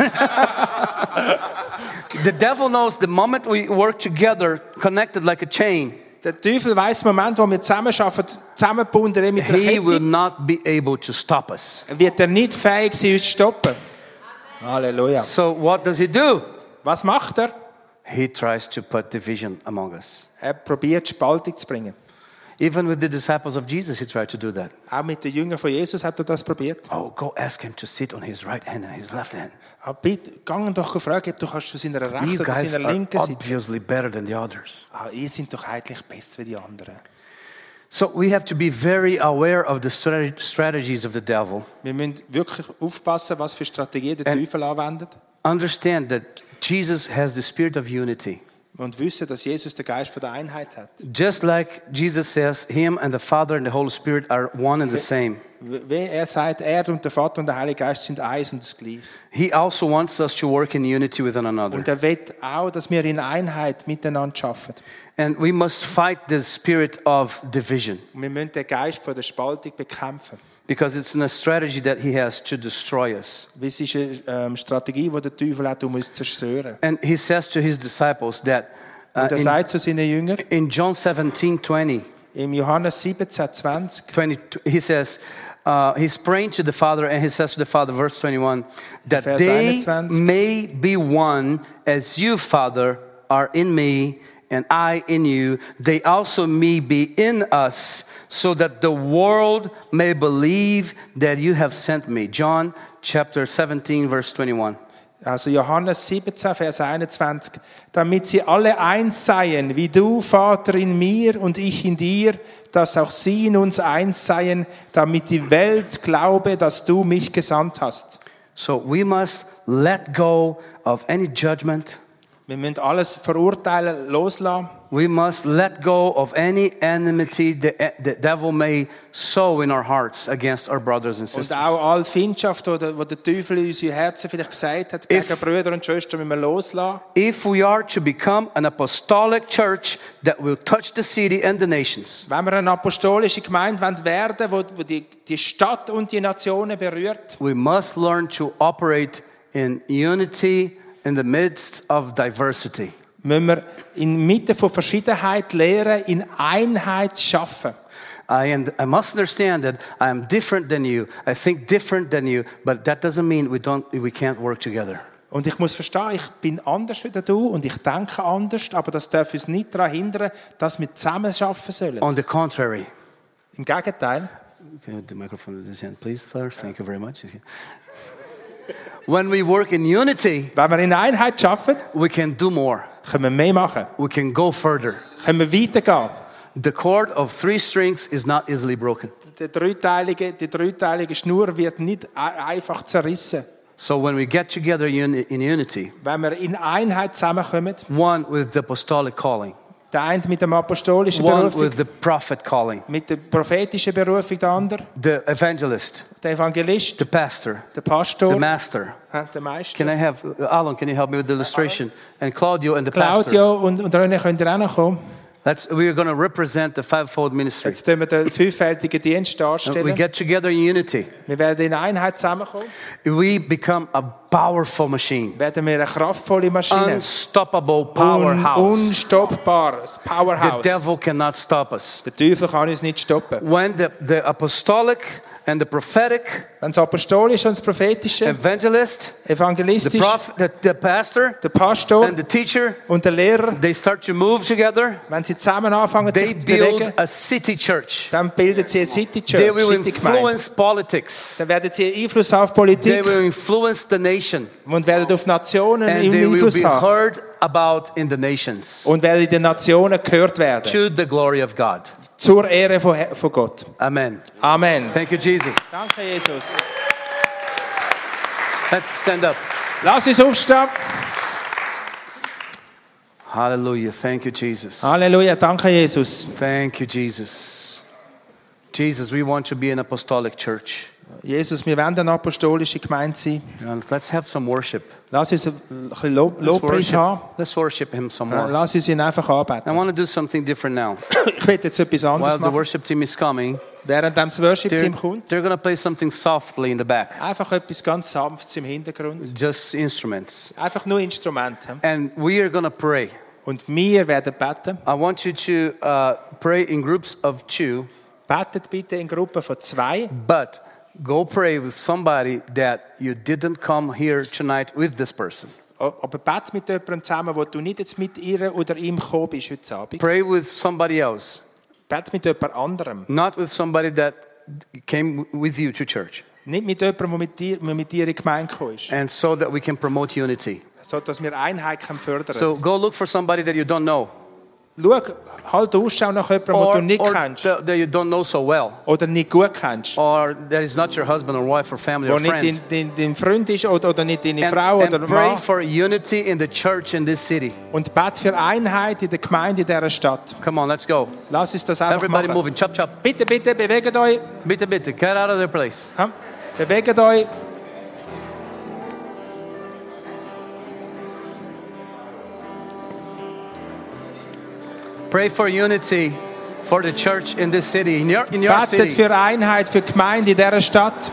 the devil knows the moment we work together, connected like a chain, Der Teufel weiss, im Moment, wo wir zusammen arbeiten, zusammengebunden wie mit einer he will Kette, not be able to stop us. wird er nicht fähig sein, uns zu stoppen. Halleluja. So what does he do? Was macht er? He tries to put division among us. Er probiert, Spaltung zu bringen. Even with the disciples of Jesus, he tried to do that. Auch mit den Jüngern von Jesus hat er das probiert. Oh, go ask him to sit on his right hand and his left hand. Aber bitte, gang doch fragen, ob du kannst zu seiner You rechten oder guys seiner are linken sitzen. obviously better than the others. Ah, ihr seid doch eigentlich besser wie die anderen. So we have to be very aware of the strate- strategies of the devil. Wir müssen wirklich aufpassen, was für Strategien der And- Teufel anwendet. Understand that Jesus has the spirit of unity. Und wissen, dass Jesus den Geist von der Einheit hat. Just like Jesus says, him and the Father and the Holy Spirit are one and the same. Wie er sagt, er und der Vater und der Heilige Geist sind eins und das Gleiche. He also wants us to work in unity with one another. Und er will auch, dass wir in Einheit miteinander arbeiten. And we must fight the spirit of division Und wir müssen den Geist von der Spaltung bekämpfen. because it's a strategy that he has to destroy us. Weil es ist eine ähm, Strategie, die der Teufel hat, um uns zu zerstören. And he says to his disciples that uh, Und er in, sagt zu seinen Jüngern, in John seventeen twenty, im Johannes siebzehn, zwanzig, twenty, he says, uh, he's praying to the Father and he says to the Father, verse twenty-one, that Vers they einundzwanzig. may be one as you, Father, are in me and I in you. They also may be in us so that the world may believe that you have sent me. John chapter seventeen, verse twenty-one. also Johannes siebzehn, Vers einundzwanzig, damit sie alle eins seien, wie du, Vater, in mir und ich in dir, dass auch sie in uns eins seien, damit die Welt glaube, dass du mich gesandt hast. So we must let go of any judgment. Wir müssen alles verurteilen, loslassen. We must let go of any enmity the, the devil may sow in our hearts against our brothers and Und sisters. auch alle Findschaft, die der, die der Teufel in unsere Herzen vielleicht gesagt hat, gegen If- Brüder und Schwestern, müssen wir loslassen. If we are to become an apostolic church that will touch the city and the nations, Wenn wir eine apostolische Gemeinde werden wollen, die die, die Stadt und die Nationen berührt, we must learn to operate in unity in the midst of diversity. müssen wir inmitten von Verschiedenheit lernen, in Einheit schaffen. I, and I must understand that I am different than you. I think different than you, but that doesn't mean we don't, we can't work together. Und ich muss verstehen, ich bin anders wie du und ich denke anders, aber das darf uns nicht daran hindern, dass wir zusammen arbeiten sollen. On the contrary, Im Gegenteil, okay, the microphone in this hand, please, sir. Thank you very much. When we work in unity, wenn wir in Einheit arbeiten, we can do more. können wir mehr machen, We can go further. können wir weitergehen. The cord of three strings is not easily broken. Die dreiteilige, die dreiteilige Schnur wird nicht ein- einfach zerrissen. So when we get together uni- in unity, Wenn wir in Einheit zusammenkommen, one with the apostolic calling, Der eine mit dem apostolischen one Berufung, with the prophet calling, mit der prophetischen Berufung, der andere, the evangelist, der Evangelist, the pastor, der Pastor, the master. hä, der Meister. Can I have, Alan, can you help me with the illustration? And Claudio and the pastor. Claudio und, und René könnt ihr auch noch kommen. That's, we're going to represent the fivefold ministry. Jetzt tun wir den fünffältigen Dienst We darstellen. get together in unity. Wir werden in Einheit zusammenkommen. We become a powerful machine. Werden wir eine kraftvolle Maschine. Unstoppable Un, powerhouse. unstoppbares The Powerhouse. devil cannot stop us. Der Teufel kann uns nicht stoppen. When the, the apostolic and the prophetic, Wenn das Apostolische und das Prophetische, evangelist, the evangelistisch, prophet, the, the pastor, der Pastor and the teacher, und der Lehrer, they start to move together. wenn sie zusammen anfangen They sich zu bewegen, build a city church. dann bilden sie eine City They Church, will City Gemeinde. influence politics. Dann werden sie Einfluss auf They Politik will influence the nation. und werden auf Nationen And they will Einfluss be haben. heard about in the nations. Und werden in den Nationen gehört werden. To the glory of God. Zur Ehre von, von Gott. Amen. Amen. Thank you, Jesus. Danke, Jesus. Let's stand up. Lass uns aufstehen. Hallelujah. Thank you, Jesus. Halleluja. Danke, Jesus. Thank you, Jesus. Jesus, we want to be an apostolic church. Jesus, wir wollen eine apostolische Gemeinde sein. And let's have some worship. Lass uns ein bisschen Lob, Let's Lobpreis haben. worship, let's worship Him some Ja, more. lass uns ihn einfach I anbeten. want to do something different now. Ich will jetzt etwas anderes While the machen. worship team is coming, Während das they're, Worship-Team kommt, they're going to play something softly in the back. einfach etwas ganz Sanftes im Hintergrund. Just instruments. Einfach nur Instrumente. And we are going to pray. Und wir werden beten. I want you to uh, pray in groups of two, Betet bitte in Gruppen von zwei. but go pray with somebody that you didn't come here tonight with this person. Aber bet mit jemandem zusammen, wo du nicht jetzt mit ihr oder ihm gekommen bist heute Abend. Pray with somebody else, Bet mit jemand anderem. not with somebody that came with you to church. Nicht mit jemandem, der mit dir, der mit dir in die Gemeinde gekommen ist. And so that we can promote unity. So dass wir Einheit können fördern So go look for somebody that you don't know, Schau, halt Ausschau nach jemandem, den or, du nicht or kennst. that that you don't know so well, Oder nicht gut kennst. or that is not your husband or wife or family Der or nicht friend. dein, dein, dein Freund ist oder, oder nicht deine And, Frau oder and pray Mann. for unity in the church in this city. Und bet für Einheit in der Gemeinde in dieser Stadt. Come on, let's go. Lass uns das einfach Everybody machen. moving. Chop, chop. Bitte, bitte, bewegt euch. Bitte, bitte. Get out of their place. Ha? Bewegt euch. Pray for unity for the church in this city, in your, in your Betet city. für Einheit, für die Gemeinde in dieser Stadt.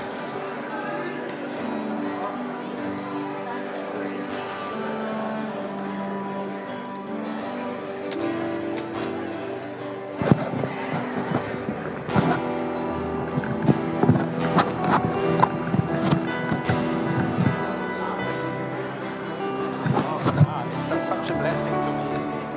Such a blessing to me.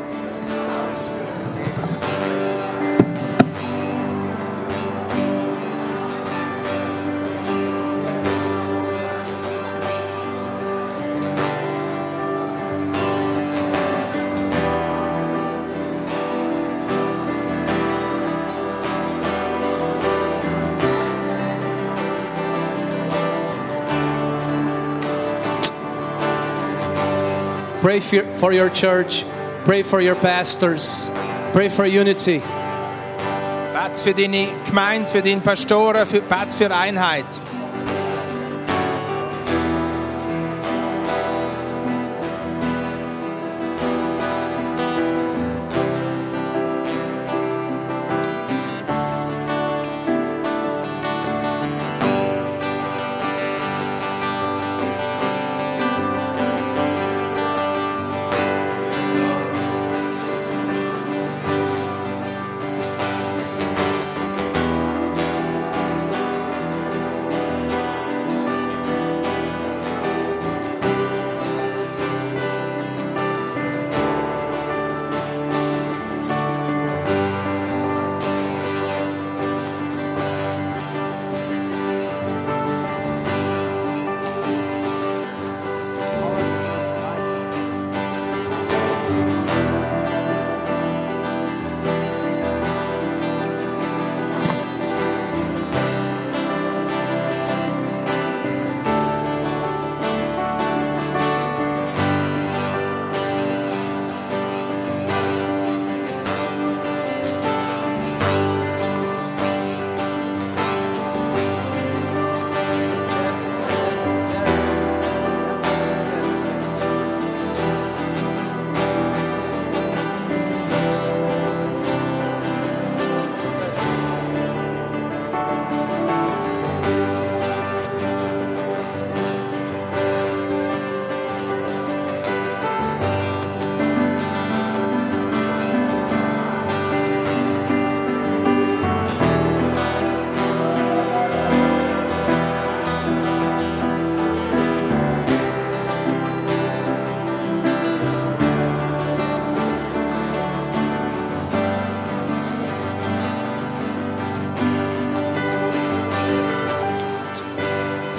Pray for for your church. Pray for your pastors. Pray for unity. Bet für deine Gemeinde, für deine Pastoren, für, bet für Einheit.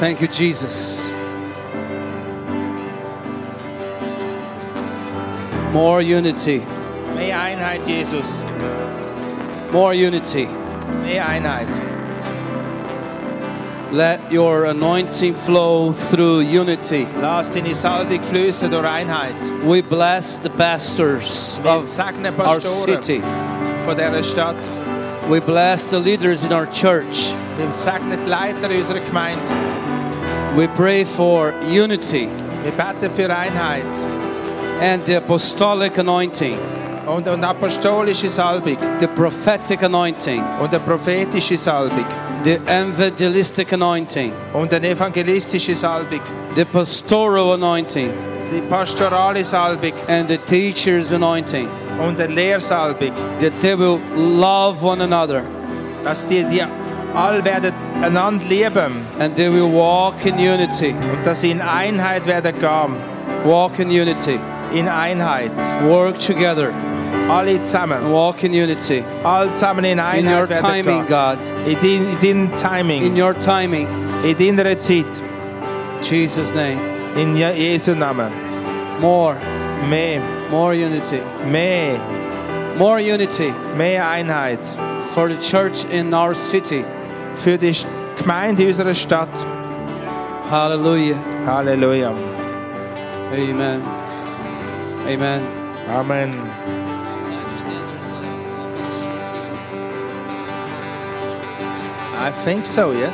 Thank you, Jesus. More unity. Mehr Einheit, Jesus. More unity. Mehr Einheit. Let your anointing flow through unity. Lass deine Salbung fließen durch Einheit. We bless the pastors Wir of segnen our Pastoren city. von dieser Stadt. We bless the leaders in our church. Wir segnen die Leiter unserer Gemeinde. We pray for unity Wir beten für Einheit and the apostolic anointing, und, und apostolische Salbung the prophetic anointing, und eine prophetische Salbung the evangelistic anointing, und eine evangelistische Salbung, the pastoral anointing, die pastorale Salbung and the teacher's anointing, und eine Lehrsalbung, that they will love one another dass die, die alle werden einander lieben and they will walk in unity. und dass sie in Einheit werden gehen. Walk in unity. In Einheit. Work together. Alle zusammen. Walk in unity. Alle zusammen in In your Einheit werden timing, gehen. God. In dein, in deinem Timing. In your timing. In deiner Zeit. Jesus' name. In Je- Jesu Namen. More. Mehr. More unity. Mehr. More unity Mehr Einheit. for the church in our city. Für die Gemeinde unserer Stadt. Hallelujah. Halleluja. Amen. Amen. Amen. I think so, yes.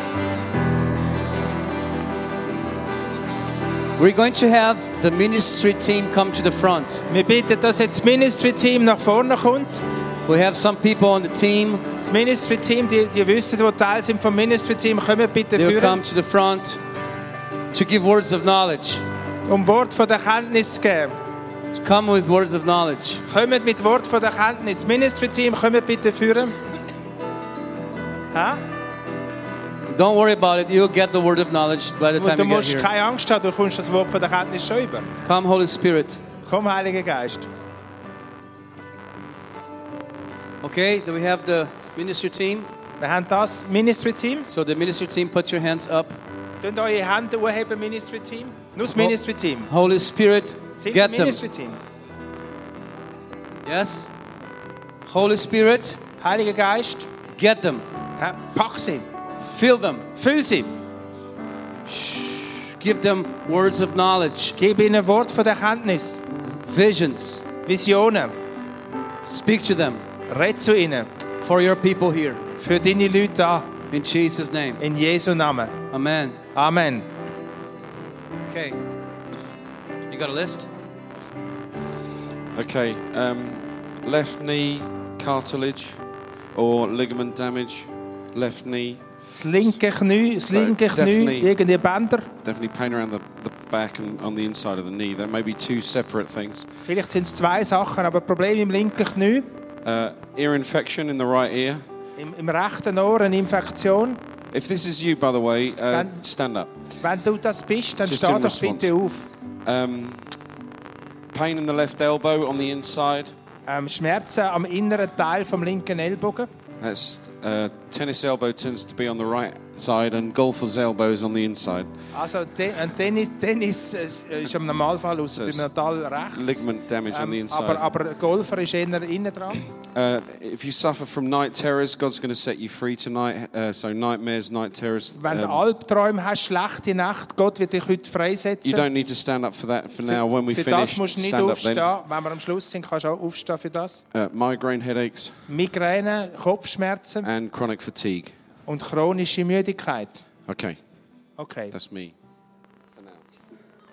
We're going to have the ministry team come to the front. Wir bitten, dass jetzt das Ministry-Team nach vorne kommt. We have some people on the team. Das Ministry-Team, die, die wissen, die Teil sind vom Ministry-Team, kommen bitte They'll führen, come to the front to give words of knowledge. um Wort von der Kenntnis zu geben. To come with words of knowledge. Kommt mit Wort von der Kenntnis. Das Ministry-Team, kommt bitte führen. Ha? Don't worry about it. You'll get the word of knowledge by the time Du you get musst here. keine Angst haben, du kommst das Wort von der Kenntnis schon über. Come, Holy Spirit. Komm, Heiliger Geist. Okay, then we have the ministry team. Wir haben das Ministry-Team. So the ministry team, put your hands up. Könnt eure Hände hochheben, Ministry-Team. Nur das Ministry-Team. Holy Spirit, Sind get das them. Ministry-Team. Yes? Holy Spirit, Heiliger Geist, get them. ja, pack sie. Fill them. Füll sie. Give them words of knowledge, Gib ihnen ein Wort von der Kenntnis. visions. Visionen. Speak to them Red zu ihnen. for your people here. Für deine Leute da. In Jesus' name. In Jesu Namen. Amen. Amen. Okay. You got a list? Okay, um, left knee cartilage or ligament damage, left knee, Das linke Knie, das So, linke Knie, definitely- irgendeine Bänder. definitely pain around the, the back and on the inside of the knee. There may be two separate things. Vielleicht sind es zwei Sachen, aber Problem im linken Knie, Uh, ear infection in the right ear. im, im rechten Ohr eine Infektion. If this is you, by the way, uh, Then- stand up. Wenn du das bist, dann Just steh in doch response. bitte auf. Um, pain in the left elbow on the inside. Ähm, Schmerzen am inneren Teil vom linken Ellbogen. That's uh, tennis elbow tends to be on the right side, and golfer's elbow is on the inside. Also te ein Tennis, Tennis äh, ist im Normalfall aus beim Natal rechts. Ligament damage on the Ähm, inside. aber, aber Golfer ist eher innen dran. Uh, if you suffer from night terrors, God's going to set you free tonight. Uh, so nightmares, night terrors. Wenn du um, Albträume hast, schlechte Nacht, Gott wird dich heute you freisetzen. don't need to stand up for that for now. When we für finish, das musst du nicht stand up aufstehen. then. Wenn wir am Schluss sind, kannst du auch aufstehen für das. Uh, migraine headaches Migräne, Kopfschmerzen and chronic fatigue. und chronische Müdigkeit. Okay, Okay. that's me.